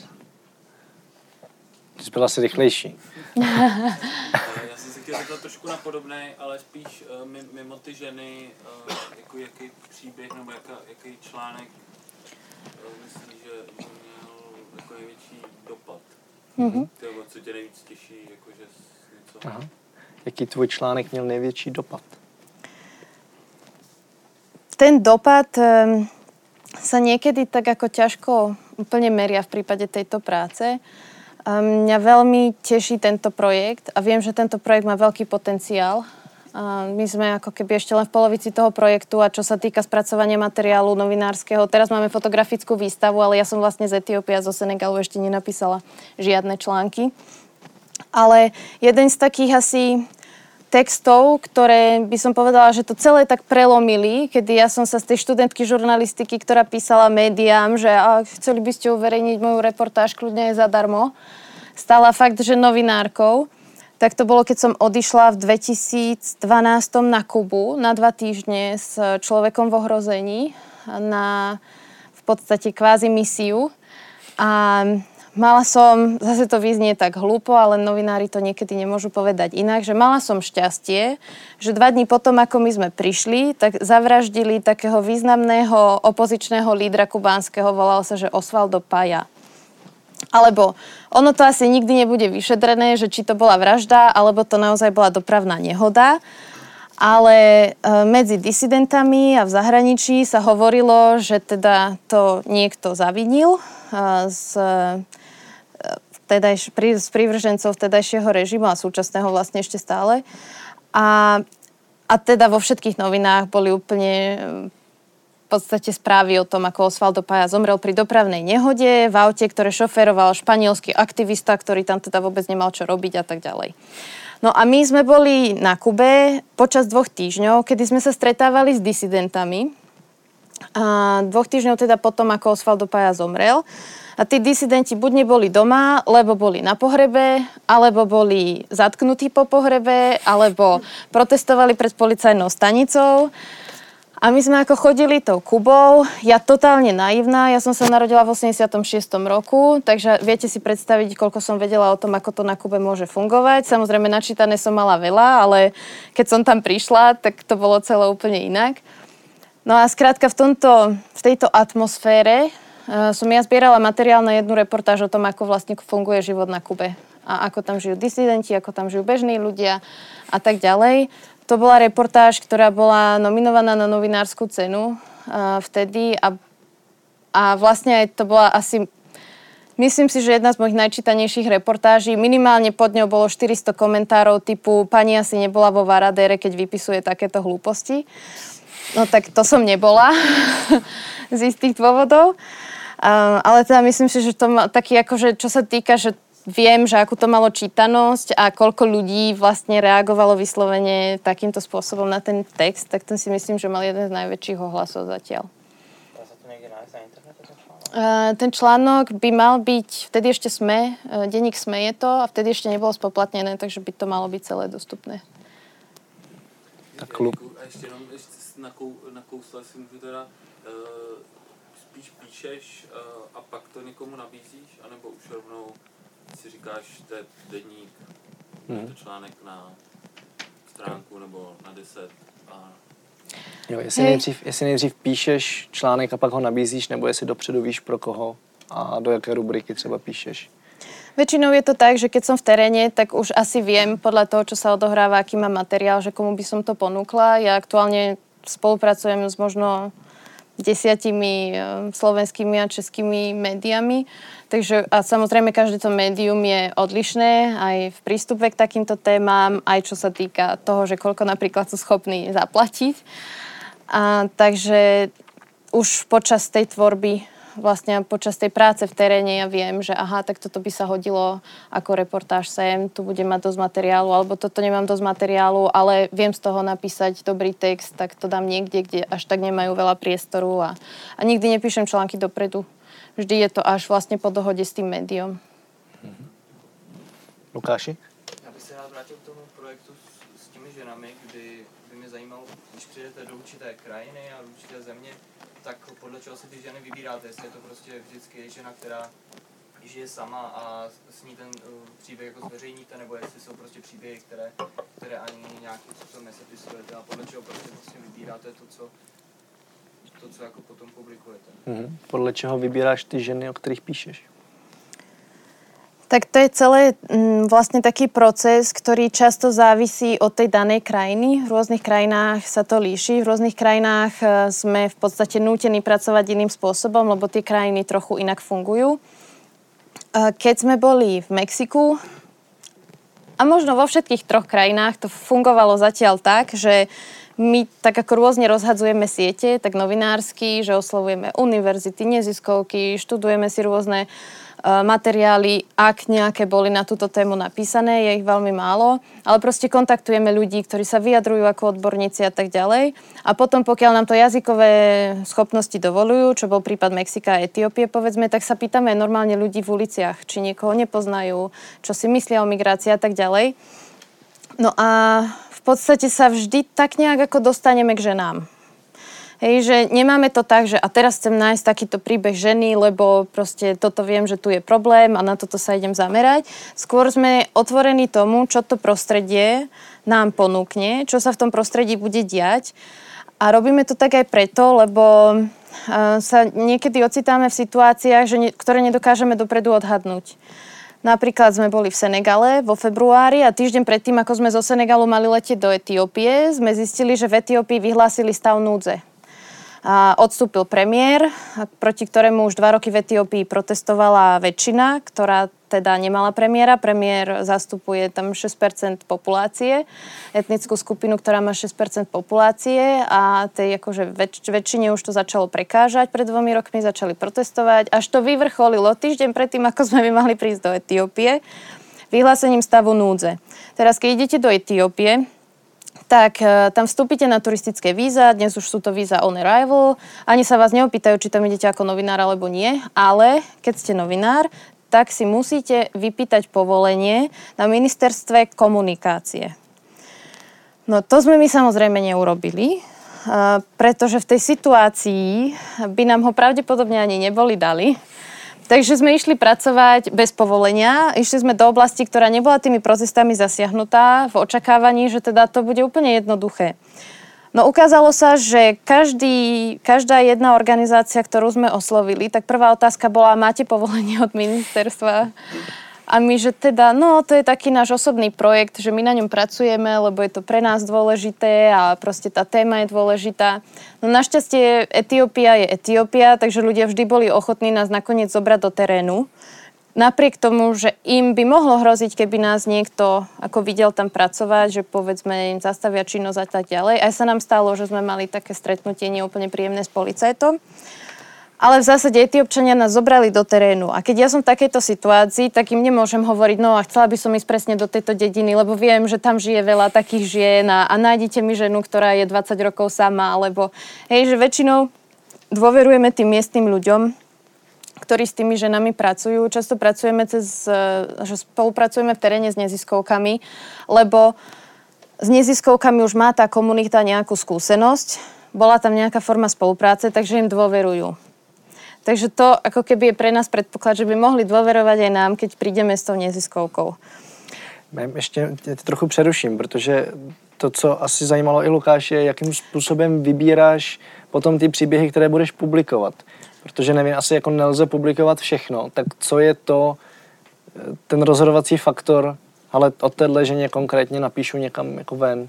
Jsi byla asi rychlejší. Já jsem se chtěl zeptat trošku na podobné, ale spíš uh, mimo ty ženy, uh, jako jaký příběh nebo jaká, jaký článek uh, myslíš, že měl jako největší dopad? Mm-hmm. Nebo co tě nejvíc těší, jakože něco... Aha. Jaký tvůj článek měl největší dopad? Ten dopad um, sa niekedy tak ako ťažko úplne meria v prípade tejto práce. Mňa veľmi teší tento projekt a viem, že tento projekt má veľký potenciál My sme ako keby ešte len v polovici toho projektu a čo sa týka spracovania materiálu novinárskeho. Teraz máme fotografickú výstavu, ale ja som vlastne z Etiópie a zo Senegalu ešte nenapísala žiadne články. Ale jeden z takých asi textov, ktoré by som povedala, že to celé tak prelomili, kedy ja som sa z tej študentky žurnalistiky, ktorá písala médiám, že a, chceli by ste uverejniť moju reportáž kľudne zadarmo, stala fakt, že novinárkou. Tak to bolo, keď som odišla v dvetisícdvanásť na Kubu na dva týždne s človekom v ohrození na v podstate kvázi misiu. A mala som, zase to vyznie tak hlúpo, ale novinári to niekedy nemôžu povedať inak, že mala som šťastie, že dva dní potom, ako my sme prišli, tak zavraždili takého významného opozičného lídra kubánskeho, volal sa, že Osvaldo Paya. Alebo ono to asi nikdy nebude vyšetrené, že či to bola vražda, alebo to naozaj bola dopravná nehoda. Ale e, medzi disidentami a v zahraničí sa hovorilo, že teda to niekto zavinil e, z, e, tedajš, pri, z prívržencov vtedajšieho režimu a súčasného vlastne ešte stále. A, a teda vo všetkých novinách boli úplne v podstate správy o tom, ako Osvaldo Paya zomrel pri dopravnej nehode v aute, ktoré šoféroval španielský aktivista, ktorý tam teda vôbec nemal čo robiť a tak ďalej. No a my sme boli na Kube počas dvoch týždňov, kedy sme sa stretávali s disidentami. A dvoch týždňov teda potom, ako Osvaldo Paya zomrel. A tí disidenti buď neboli doma, lebo boli na pohrebe, alebo boli zatknutí po pohrebe, alebo protestovali pred policajnou stanicou. A my sme ako chodili tou Kubou, ja totálne naivná, ja som sa narodila v osemdesiatom šiestom roku, takže viete si predstaviť, koľko som vedela o tom, ako to na Kube môže fungovať. Samozrejme, načítané som mala veľa, ale keď som tam prišla, tak to bolo celé úplne inak. No a skrátka v, tomto, v tejto atmosfére uh, som ja zbierala materiál na jednu reportáž o tom, ako vlastne funguje život na Kube. A ako tam žijú disidenti, ako tam žijú bežní ľudia a tak ďalej. To bola reportáž, ktorá bola nominovaná na novinárskú cenu uh, vtedy a, a vlastne aj to bola asi, myslím si, že jedna z mojich najčítanejších reportáží. Minimálne pod ňou bolo štyristo komentárov typu pani asi nebola vo Varadére, keď vypisuje takéto hlúposti. No tak to som nebola z istých dôvodov. Uh, ale teda myslím si, že to má taký akože, čo sa týka, že viem, že akú to malo čítanosť a koľko ľudí vlastne reagovalo vyslovene takýmto spôsobom na ten text, tak ten si myslím, že mal jeden z najväčších ohlasov zatiaľ. Dá sa to niekde nájsť na internete? Uh, ten článok by mal byť, vtedy ešte SME, uh, denník SME je to a vtedy ešte nebolo spoplatnené, takže by to malo byť celé dostupné. Tak klub. A ještě jenom ještě nakou, nakousla si můžu teda, uh, spíš píšeš uh, a pak to někomu nabízíš, anebo už rovnou si říkáš, to je denník, hmm. to článek na stránku nebo na deset a... Jo, jestli, nejdřív, jestli nejdřív píšeš článek a pak ho nabízíš, nebo jestli dopředu víš pro koho a do jaké rubriky třeba píšeš? Väčšinou je to tak, že keď som v teréne, tak už asi viem podľa toho, čo sa odohráva, aký mám materiál, že komu by som to ponúkla. Ja aktuálne spolupracujem s možno desiatimi slovenskými a českými médiami. Takže a samozrejme každé to médium je odlišné aj v prístupe k takýmto témam, aj čo sa týka toho, že koľko napríklad sú schopní zaplatiť. A, takže už počas tej tvorby, vlastne počas tej práce v teréne ja viem, že aha, tak toto by sa hodilo ako reportáž sem, tu budem mať dosť materiálu, alebo toto nemám dosť materiálu, ale viem z toho napísať dobrý text, tak to dám niekde, kde až tak nemajú veľa priestoru a, a nikdy nepíšem články dopredu. Vždy je to až vlastně po dohodě s tím médium. Mm-hmm. Lukáši? Já bych se rád vrátil k tomu projektu s, s těmi ženami, kdy by mě zajímalo, když přijdete do určité krajiny a do určité země, tak podle čeho si ty ženy vybíráte? Jestli je to prostě vždycky žena, která žije sama a s ní ten uh, příběh jako zveřejníte, nebo jestli jsou prostě příběhy, které, které ani nějakým způsobem nesepisujete a podle čeho prostě vlastně vybíráte to, co to, co jako potom publikujete. Mm-hmm. Podle čeho vybíráš ty ženy, o kterých píšeš? Tak to je celé m, vlastne taký proces, ktorý často závisí od tej danej krajiny. V rôznych krajinách sa to líši. V rôznych krajinách e, sme v podstate nútení pracovať iným spôsobom, lebo tie krajiny trochu inak fungujú. E, keď sme boli v Mexiku, A možno vo všetkých troch krajinách to fungovalo zatiaľ tak, že my tak ako rôzne rozhadzujeme siete, tak novinársky, že oslovujeme univerzity, neziskovky, študujeme si rôzne uh, materiály, ak nejaké boli na túto tému napísané, je ich veľmi málo, ale proste kontaktujeme ľudí, ktorí sa vyjadrujú ako odborníci a tak ďalej. A potom, pokiaľ nám to jazykové schopnosti dovolujú, čo bol prípad Mexika a Etiópie, povedzme, tak sa pýtame normálne ľudí v uliciach, či niekoho nepoznajú, čo si myslia o migrácii a tak ďalej. No a v podstate sa vždy tak nejak ako dostaneme k ženám. Hej, že nemáme to tak, že a teraz chcem nájsť takýto príbeh ženy, lebo proste toto viem, že tu je problém a na toto sa idem zamerať. Skôr sme otvorení tomu, čo to prostredie nám ponúkne, čo sa v tom prostredí bude diať. A robíme to tak aj preto, lebo sa niekedy ocitáme v situáciách, že ne, ktoré nedokážeme dopredu odhadnúť. Napríklad sme boli v Senegale vo februári a týždeň predtým, ako sme zo Senegalu mali letieť do Etiópie, sme zistili, že v Etiópii vyhlásili stav núdze. A odstúpil premiér, proti ktorému už dva roky v Etiópii protestovala väčšina, ktorá teda nemala premiéra. Premiér zastupuje tam šesť percent populácie, etnickú skupinu, ktorá má šesť percent populácie a tej akože väč- väčšine už to začalo prekážať. Pred dvomi rokmi začali protestovať, až to vyvrcholilo týždeň predtým, ako sme my mali prísť do Etiópie, vyhlásením stavu núdze. Teraz, keď idete do Etiópie, tak e, tam vstúpite na turistické víza, dnes už sú to víza on arrival, ani sa vás neopýtajú, či tam idete ako novinár alebo nie, ale keď ste novinár, tak si musíte vypýtať povolenie na ministerstve komunikácie. No to sme my samozrejme neurobili, e, pretože v tej situácii by nám ho pravdepodobne ani neboli dali. Takže sme išli pracovať bez povolenia. Išli sme do oblasti, ktorá nebola tými protestami zasiahnutá, v očakávaní, že teda to bude úplne jednoduché. No ukázalo sa, že každý, každá jedna organizácia, ktorú sme oslovili, tak prvá otázka bola, máte povolenie od ministerstva? A my, že teda, no to je taký náš osobný projekt, že my na ňom pracujeme, lebo je to pre nás dôležité a proste tá téma je dôležitá. No našťastie Etiópia je Etiópia, takže ľudia vždy boli ochotní nás nakoniec zobrať do terénu. Napriek tomu, že im by mohlo hroziť, keby nás niekto ako videl tam pracovať, že povedzme im zastavia činnosť a tak ďalej. Aj sa nám stalo, že sme mali také stretnutie neúplne príjemné s policajtom. Ale v zásade Etiópčania nás zobrali do terénu. A keď ja som v takejto situácii, tak im nemôžem hovoriť, no a chcela by som ísť presne do tejto dediny, lebo viem, že tam žije veľa takých žien a, a nájdete mi ženu, ktorá je dvadsať rokov sama, alebo hej, že väčšinou dôverujeme tým miestnym ľuďom, ktorí s tými ženami pracujú. Často pracujeme cez, že spolupracujeme v teréne s neziskovkami, lebo s neziskovkami už má tá komunita nejakú skúsenosť, bola tam nejaká forma spolupráce, takže im dôverujú. Takže to ako keby je pre nás predpoklad, že by mohli dôverovať aj nám, keď prídeme s tou neziskovkou. Ještě tě trochu přeruším, protože to, co asi zajímalo i Lukáš, je, jakým způsobem vybíráš potom ty příběhy, které budeš publikovat. Protože nevím, asi jako nelze publikovat všechno. Tak co je to, ten rozhodovací faktor, ale od téhle ženě konkrétně napíšu někam jako ven?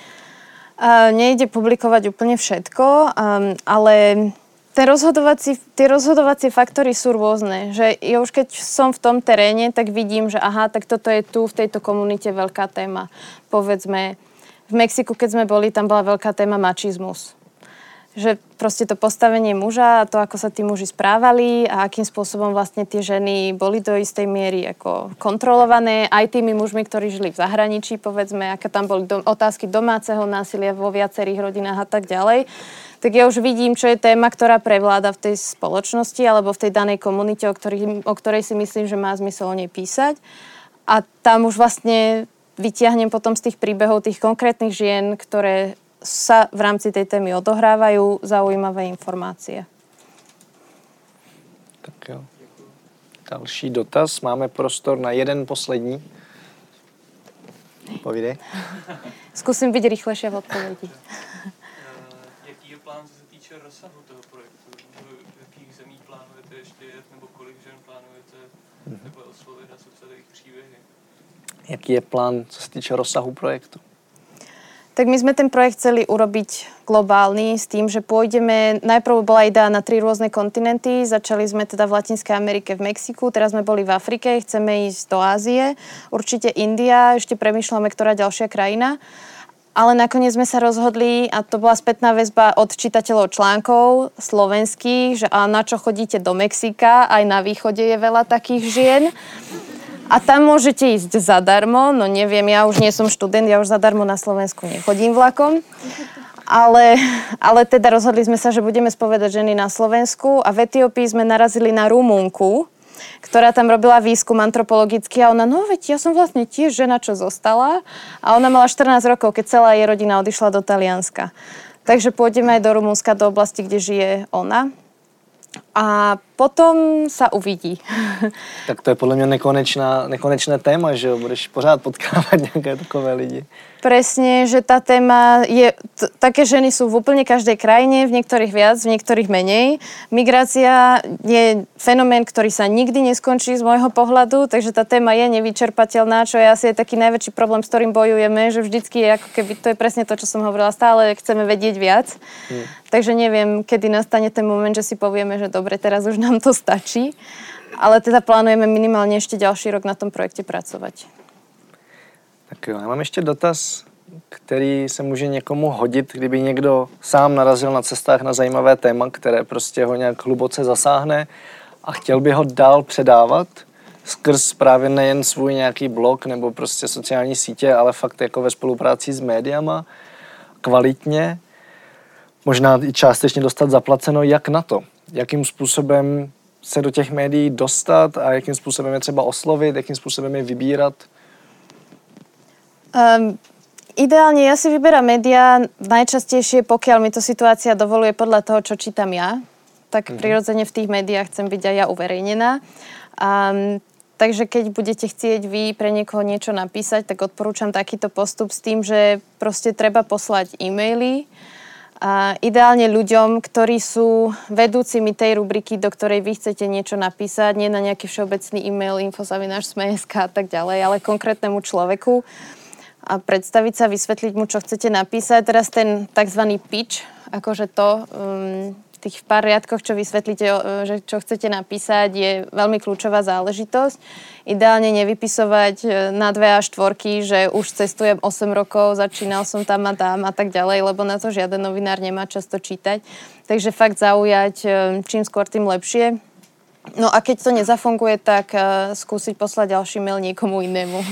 Uh, nejde publikovať úplne všetko, um, ale Ten rozhodovací, tie rozhodovacie faktory sú rôzne. Že ja už keď som v tom teréne, tak vidím, že aha, tak toto je tu v tejto komunite veľká téma. Povedzme, v Mexiku, keď sme boli, tam bola veľká téma mačizmus. Že proste to postavenie muža a to, ako sa tí muži správali a akým spôsobom vlastne tie ženy boli do istej miery ako kontrolované aj tými mužmi, ktorí žili v zahraničí, povedzme, aké tam boli dom- otázky domáceho násilia vo viacerých rodinách a tak ďalej. Tak ja už vidím, čo je téma, ktorá prevláda v tej spoločnosti alebo v tej danej komunite, o, ktorý, o ktorej si myslím, že má zmysel o nej písať. A tam už vlastne vytiahnem potom z tých príbehov tých konkrétnych žien, ktoré sa v rámci tej témy odohrávajú, zaujímavé informácie. Tak jo. Další dotaz. Máme prostor na jeden poslední. Povídej. Skúsim byť rýchlejšia v odpovedi. Jaký je plán, co se týče rozsahu toho projektu? V jakých zemích plánujete ještě jet, nebo kolik žen plánujete takhle oslovit a sepsat jejich příběhy? Jaký je plán, co se týče rozsahu projektu? Tak my sme ten projekt chceli urobiť globálny s tým, že pôjdeme, najprv bola idea na tri rôzne kontinenty, začali sme teda v Latinskej Amerike, v Mexiku, teraz sme boli v Afrike, chceme ísť do Ázie, určite India, ešte premýšľame, ktorá ďalšia krajina. Ale nakoniec sme sa rozhodli, a to bola spätná väzba od čitateľov článkov slovenských, že a na čo chodíte do Mexika, aj na východe je veľa takých žien. A tam môžete ísť zadarmo, no neviem, ja už nie som študent, ja už zadarmo na Slovensku nechodím vlakom. Ale, ale teda rozhodli sme sa, že budeme spovedať ženy na Slovensku a v Etiópii sme narazili na Rumunku, ktorá tam robila výskum antropologický a ona, no veď ja som vlastne tiež žena, čo zostala. A ona mala štrnásť rokov, keď celá jej rodina odišla do Talianska. Takže pôjdeme aj do Rumunska, do oblasti, kde žije ona. A potom sa uvidí. Tak to je podle mě nekonečná, nekonečné téma, že jo? Budeš pořád potkávat nějaké takové lidi. Presne, že tá téma je... T- také ženy sú v úplne každej krajine, v niektorých viac, v niektorých menej. Migrácia je fenomén, ktorý sa nikdy neskončí z môjho pohľadu, takže tá téma je nevyčerpateľná, čo je asi taký najväčší problém, s ktorým bojujeme, že vždycky je ako keby... To je presne to, čo som hovorila, stále chceme vedieť viac. Hmm. Takže neviem, kedy nastane ten moment, že si povieme, že dobre, teraz už nám to stačí. Ale teda plánujeme minimálne ešte ďalší rok na tom projekte pracovať. Tak jo, já mám ještě dotaz, který se může někomu hodit, kdyby někdo sám narazil na cestách na zajímavé téma, které prostě ho nějak hluboce zasáhne a chtěl by ho dál předávat skrz právě nejen svůj nějaký blog nebo prostě sociální sítě, ale fakt jako ve spolupráci s médiama, kvalitně, možná i částečně dostat zaplaceno, jak na to, jakým způsobem se do těch médií dostat a jakým způsobem je třeba oslovit, jakým způsobem je vybírat. Um, ideálne ja si vyberám médiá najčastejšie, pokiaľ mi to situácia dovoluje podľa toho, čo čítam ja. Tak mm-hmm. prirodzene v tých médiách chcem byť aj ja uverejnená. Um, takže keď budete chcieť vy pre niekoho niečo napísať, tak odporúčam takýto postup s tým, že proste treba poslať e-maily. A ideálne ľuďom, ktorí sú vedúcimi tej rubriky, do ktorej vy chcete niečo napísať, nie na nejaký všeobecný e-mail info zavináč es em e bodka es ká a tak ďalej, ale konkrétnemu človeku a predstaviť sa, vysvetliť mu, čo chcete napísať. Teraz ten takzvaný pitch, akože to, um, tých pár riadkoch, čo vysvetlíte, že čo chcete napísať, je veľmi kľúčová záležitosť. Ideálne nevypisovať na dve a štvorky, že už cestujem osem rokov, začínal som tam a tam a tak ďalej, lebo na to žiaden novinár nemá často čítať. Takže fakt zaujať čím skôr, tým lepšie. No a keď to nezafunguje, tak skúsiť poslať ďalší mail niekomu inému.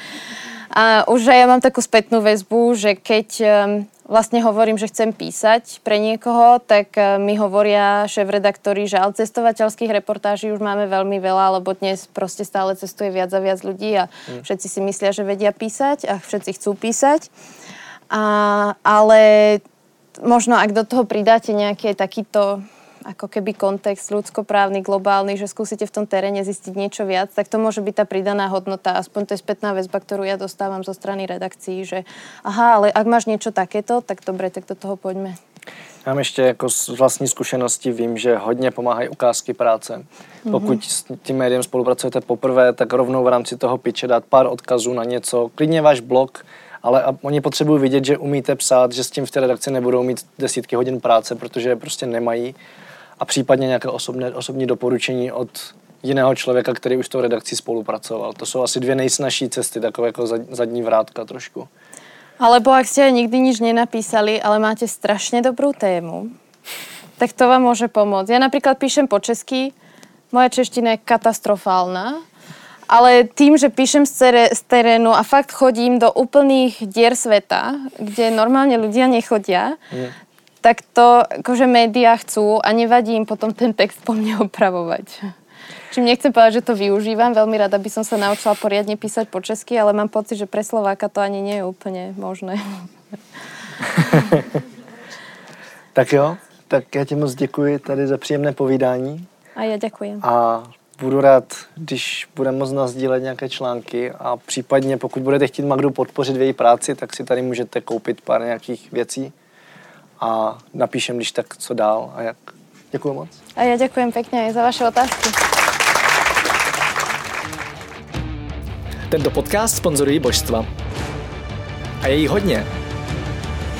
A už aj ja mám takú spätnú väzbu, že keď vlastne hovorím, že chcem písať pre niekoho, tak mi hovoria šéfredaktori, že ale cestovateľských reportáží už máme veľmi veľa, lebo dnes proste stále cestuje viac a viac ľudí a všetci si myslia, že vedia písať a všetci chcú písať. A, ale možno ak do toho pridáte nejaký takýto ako keby kontext ľudskoprávny, globálny, že skúsite v tom teréne zistiť niečo viac, tak to môže byť tá pridaná hodnota. Aspoň to je spätná väzba, ktorú ja dostávam zo strany redakcií, že aha, ale ak máš niečo takéto, tak dobre, tak do toho poďme. Já mám ještě jako z vlastní zkušenosti vím, že hodně pomáhají ukázky práce. Pokud mm-hmm. s tím médiem spolupracujete poprvé, tak rovnou v rámci toho pitche dát pár odkazů na něco, klidně váš blog, ale oni potřebují vidět, že umíte psát, že s tím v té redakci nebudou mít desítky hodin práce, protože je prostě nemají. A případně nějaké osobné, osobní doporučení od jiného člověka, který už s tou redakcí spolupracoval. To jsou asi dvě nejsnažší cesty, takové jako zadní vrátka trošku. Alebo ak ste aj nikdy nič nenapísali, ale máte strašne dobrú tému, tak to vám môže pomôcť. Ja napríklad píšem po česky, moja čeština je katastrofálna, ale tým, že píšem z terénu a fakt chodím do úplných dier sveta, kde normálne ľudia nechodia, mm. tak to akože médiá chcú a nevadí im potom ten text po mne opravovať. Čím nechcem povedať, že to využívam, veľmi rada by som sa naučila poriadne písať po česky, ale mám pocit, že pre Slováka to ani nie je úplne možné. Tak jo, tak já ti moc děkuji tady za příjemné povídání. A já děkuji. A budu rád, když budeme moct nasdílet nějaké články a případně, pokud budete chtít Magdu podpořit v její práci, tak si tady můžete koupit pár nějakých věcí a napíšem, když tak, co dál a jak. Děkuji moc. A já děkujem pěkně za vaše otázky. Tento podcast sponzorují božstva. A je jí hodně.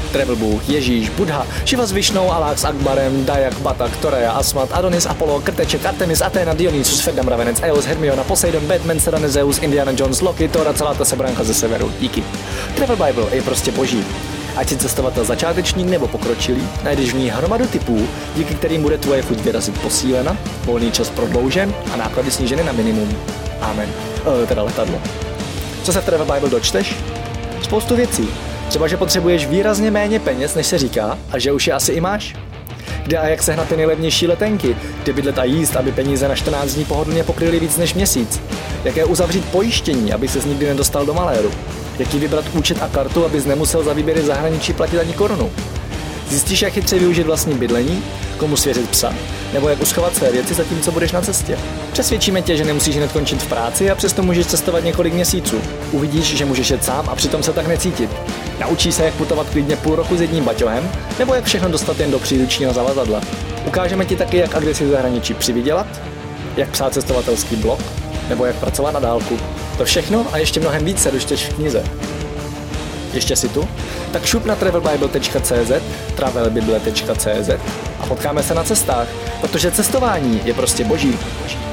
Travel Bůh, Ježíš, Buddha, Šiva s Višnou, Alák s Akbarem, Dajak, Batak, Toreja, Asmat, Adonis, Apollo, Krteček, Artemis, Athena, Dionysus, Ferdam, Ravenec, Eos, Hermiona, Poseidon, Batman, Serena, Zeus, Indiana Jones, Loki, Thor a celá ta sebranka ze severu. Díky. Travel Bible je prostě boží. Ať si cestovatel začátečník nebo pokročilý, najdeš v ní hromadu typů, díky kterým bude tvoje chuť vyrazit posílena, volný čas prodloužen a náklady sníženy na minimum. Amen. E, teda letadlo. Co se v Travel Bible dočteš? Spoustu věcí. Třeba, že potřebuješ výrazně méně peněz, než se říká, a že už je asi i máš. Kde a jak sehnat ty nejlevnější letenky, kde bydlet a jíst, aby peníze na čtrnáct dní pohodlně pokryly víc než měsíc. Jaké uzavřít pojištění, aby ses nikdy nedostal do maléru. Jaký vybrat účet a kartu, abys nemusel za výběry v zahraničí platit ani korunu. Zjistíš, jak chytře využít vlastní bydlení, komu svěřit psa, nebo jak uschovat své věci zatímco budeš na cestě. Přesvědčíme tě, že nemusíš hned končit v práci a přesto můžeš cestovat několik měsíců. Uvidíš, že můžeš jet sám a přitom se tak necítit. Naučíš se, jak putovat klidně půl roku s jedním baťohem, nebo jak všechno dostat jen do příručního zavazadla. Ukážeme ti taky, jak a kde si v zahraničí přivydělat, jak psát cestovatelský blog, nebo jak pracovat na dálku. To všechno a ještě mnohem víc se dočteš v knize. Ještě si tu? Tak šup na travel bible tečka cé zet, travel bible tečka cé zet a potkáme se na cestách, protože cestování je prostě boží.